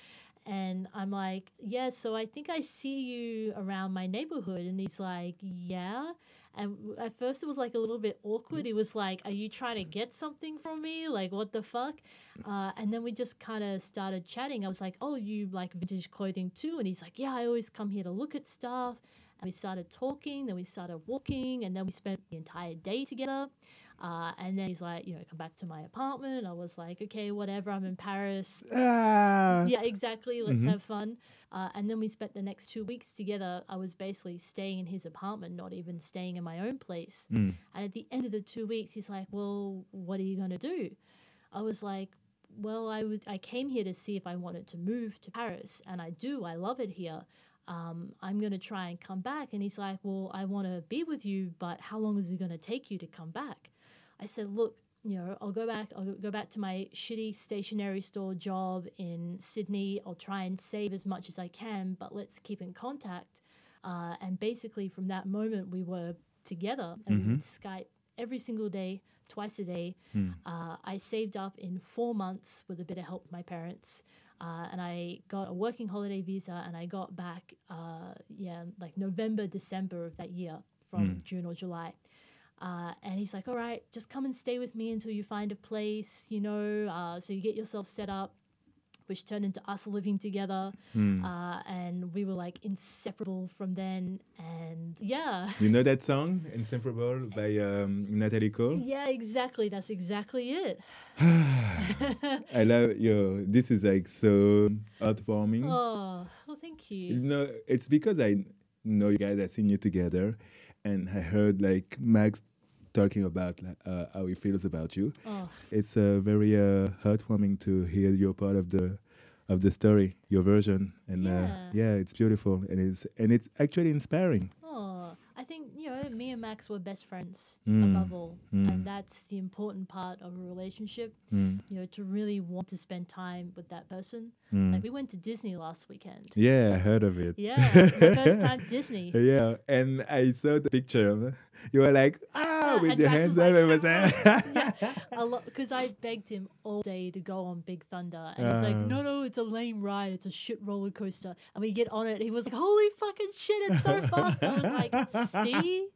and I'm like, yeah, so I think I see you around my neighborhood. And he's like, yeah. And w- at first it was like a little bit awkward. He was like, are you trying to get something from me? Like, what the fuck? Uh, and then we just kind of started chatting. I was like, oh, you like vintage clothing too? And he's like, yeah, I always come here to look at stuff. And we started talking, then we started walking, and then we spent the entire day together. Uh, and then he's like, you know, come back to my apartment. I was like, okay, whatever. I'm in Paris. Ah. Yeah, exactly. Let's Mhm. have fun. Uh, and then we spent the next two weeks together. I was basically staying in his apartment, not even staying in my own place. Mm. And at the end of the two weeks, he's like, well, what are you going to do? I was like, well, I would. I came here to see if I wanted to move to Paris, and I do. I love it here. Um, I'm going to try and come back. And he's like, well, I want to be with you, but how long is it going to take you to come back? I said, look, you know, I'll go back. I'll go back to my shitty stationery store job in Sydney. I'll try and save as much as I can, but let's keep in contact. Uh, and basically, from that moment, we were together, and we would Skype every single day, twice a day. Mm. Uh, I saved up in four months with a bit of help from my parents. Uh, and I got a working holiday visa, and I got back, uh, yeah, like November, December of that year, from Mm. June or July. Uh, and he's like, all right, just come and stay with me until you find a place, you know, uh, so you get yourself set up, which turned into us living together. Mm. Uh, and we were like inseparable from then. And yeah. You know that song, Inseparable, by um, Natalie Cole? Yeah, exactly. That's exactly it. I love you. This is like so heartwarming. Oh, well, thank you. No, it's because I know you guys. I've seen you together, and I heard like Max talking about uh, how he feels about you. Oh, It's uh, very uh, heartwarming to hear your part of the of the story, your version, and uh, Yeah. yeah, it's beautiful, and it's and it's actually inspiring. oh. I think, you know, me and Max were best friends Mm. above all. Mm. And that's the important part of a relationship, Mm. you know, to really want to spend time with that person. Mm. Like, we went to Disney last weekend. Yeah, I heard of it. Yeah, my first time Disney. Yeah, and I saw the picture. You were like, ah, Yeah, with and your Max hands was up. like, It was yeah, a lot, because I begged him all day to go on Big Thunder, and he's like, Uh. "No, no, it's a lame ride. It's a shit roller coaster." And we get on it. He was like, "Holy fucking shit! It's so fast!" I was like, "See."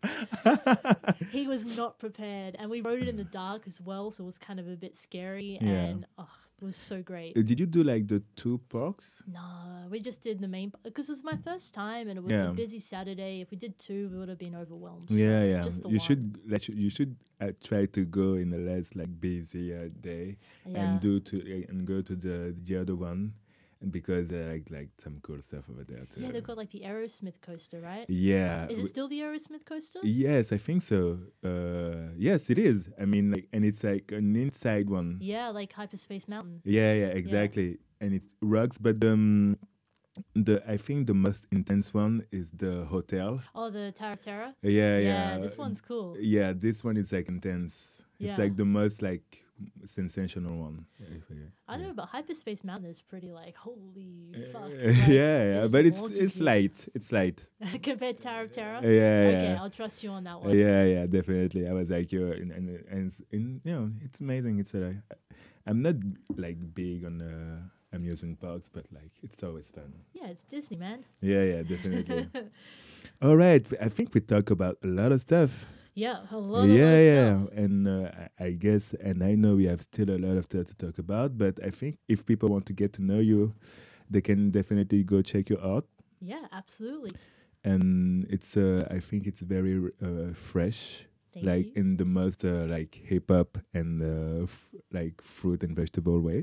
He was not prepared, and we rode it in the dark as well, so it was kind of a bit scary. Yeah. And oh, it was so great. Uh, Did you do like the two parks? No, we just did the main because it was my first time, and it was Yeah. a busy Saturday. If we did two, we would have been overwhelmed. Yeah, So yeah. Just the You one. should let you, you should uh, try to go in a less like busy uh, day Yeah. and do to uh, and go to the the other one, and because uh, like like some cool stuff over there too. Yeah, they've got like the Aerosmith coaster, right? Yeah. Is it w- still the Aerosmith coaster? Yes, I think so. Uh, yes, it is. I mean, like, and it's like an inside one. Yeah, like Hyperspace Mountain. Yeah, yeah, exactly. And it's rocks, but um, the I think the most intense one is the hotel. Oh, the Tower of Terror? Yeah, yeah. this one's cool. Yeah, this one is like intense. It's Yeah. like the most like sensational one. Yeah, if I- I don't yeah. know, but Hyperspace Mountain is pretty like, holy fuck. Uh, like, yeah, it yeah, just but it's launches it's you. light. It's light. Compared to Tower of Terror? Yeah, Okay, yeah. I'll trust you on that Uh, one. yeah, yeah, definitely. I was like, you and and, and it's- in, you know, it's amazing. It's a, I'm not like big on uh, amusement parks, but like it's always fun. Yeah, it's Disney, man. Yeah, yeah, definitely. All right, I think we talk about a lot of stuff. Yeah, a lot, yeah, a lot of yeah, stuff. and uh, I, I guess, and I know we have still a lot of stuff to talk about, but I think if people want to get to know you, they can definitely go check your art, Yeah, absolutely. and it's, uh, I think it's very uh, fresh. Thank like you. in the most uh, like hip hop and uh, f- like fruit and vegetable way.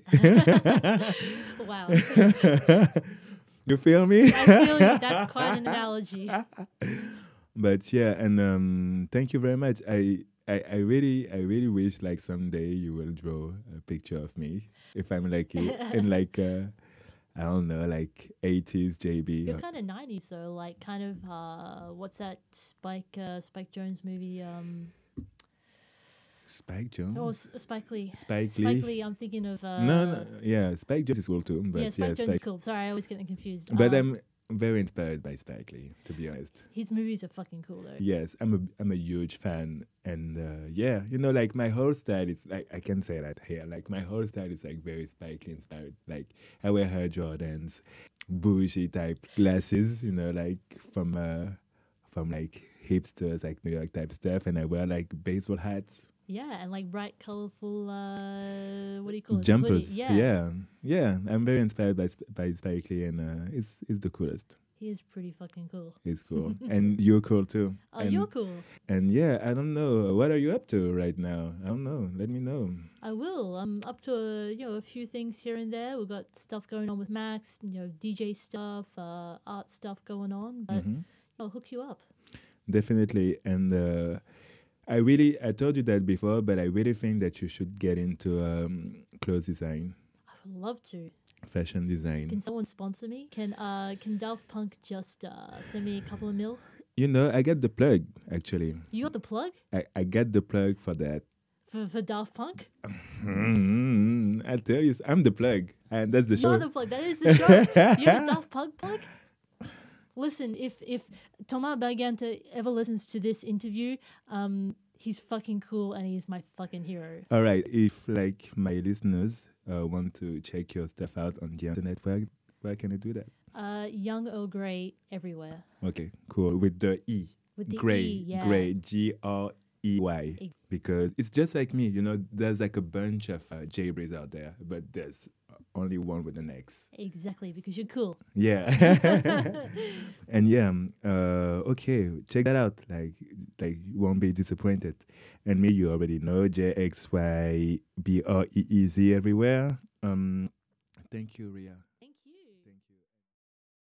Wow. You feel me? I feel you. That's quite an analogy. But yeah, and um, thank you very much. I, I I really I really wish like someday you will draw a picture of me if I'm like i- in like uh, I don't know, like eighties J B. You're kind of nineties though, like kind of uh, what's that Spike uh, Spike Jones movie? Um, Spike Jones. oh, S- Spike Lee. Spike Spike Lee. Lee. I'm thinking of. Uh, no, no, yeah, Spike Jones is cool too. But yeah, Spike yeah, Jones Spike. is cool. Sorry, I always get them confused. But Um, um, very inspired by Spike Lee, to be honest. His movies are fucking cool though. Yes, I'm a I'm a huge fan, and uh, yeah, you know, like my whole style is like I can say that here. Like my whole style is like very Spike Lee inspired. Like I wear Air Jordans, bougie type glasses, you know, like from uh from like hipsters, like New York type stuff, and I wear like baseball hats, Yeah, and like bright, colorful. Uh, what do you call it? jumpers. Hoodie. Yeah, yeah, yeah. I'm very inspired by Sp- by Spike Lee, and uh, it's it's the coolest. he is pretty fucking cool. It's cool, and you're cool too. Oh, and, you're cool. And yeah, I don't know. What are you up to right now? I don't know. Let me know. I will. I'm up to a, you know a few things here and there. We've got stuff going on with Max. You know, D J stuff, uh, art stuff going on. But Mhm. I'll hook you up. Definitely. And uh, I really, I told you that before, but I really think that you should get into um, clothes design, I would love to. fashion design. Can someone sponsor me? Can uh can Daft Punk just uh, send me a couple of mil? You know, I get the plug, actually. You got the plug I, I get the plug for that. for, for Daft Punk? Mm, I tell you, I'm the plug. And that's the You're show. the plug. That is the show. You're a Daft Punk plug. Listen, if if Thomas Bergante ever listens to this interview, um, he's fucking cool and he's my fucking hero. All right. If, like, my listeners uh, want to check your stuff out on the internet, where, where can I do that? Uh, Young Earl Grey everywhere Okay, cool. With the E. with the Gray. E. Yeah. Gray. G R E Y. Ex- Because it's just like me, you know, there's like a bunch of uh, J Brays out there, but there's only one with an X. Exactly, because you're cool. Yeah. And yeah, um, uh, okay, check that out. Like, like you won't be disappointed. And me, you already know J X Y B R E E Z everywhere. Um, thank you, Ria.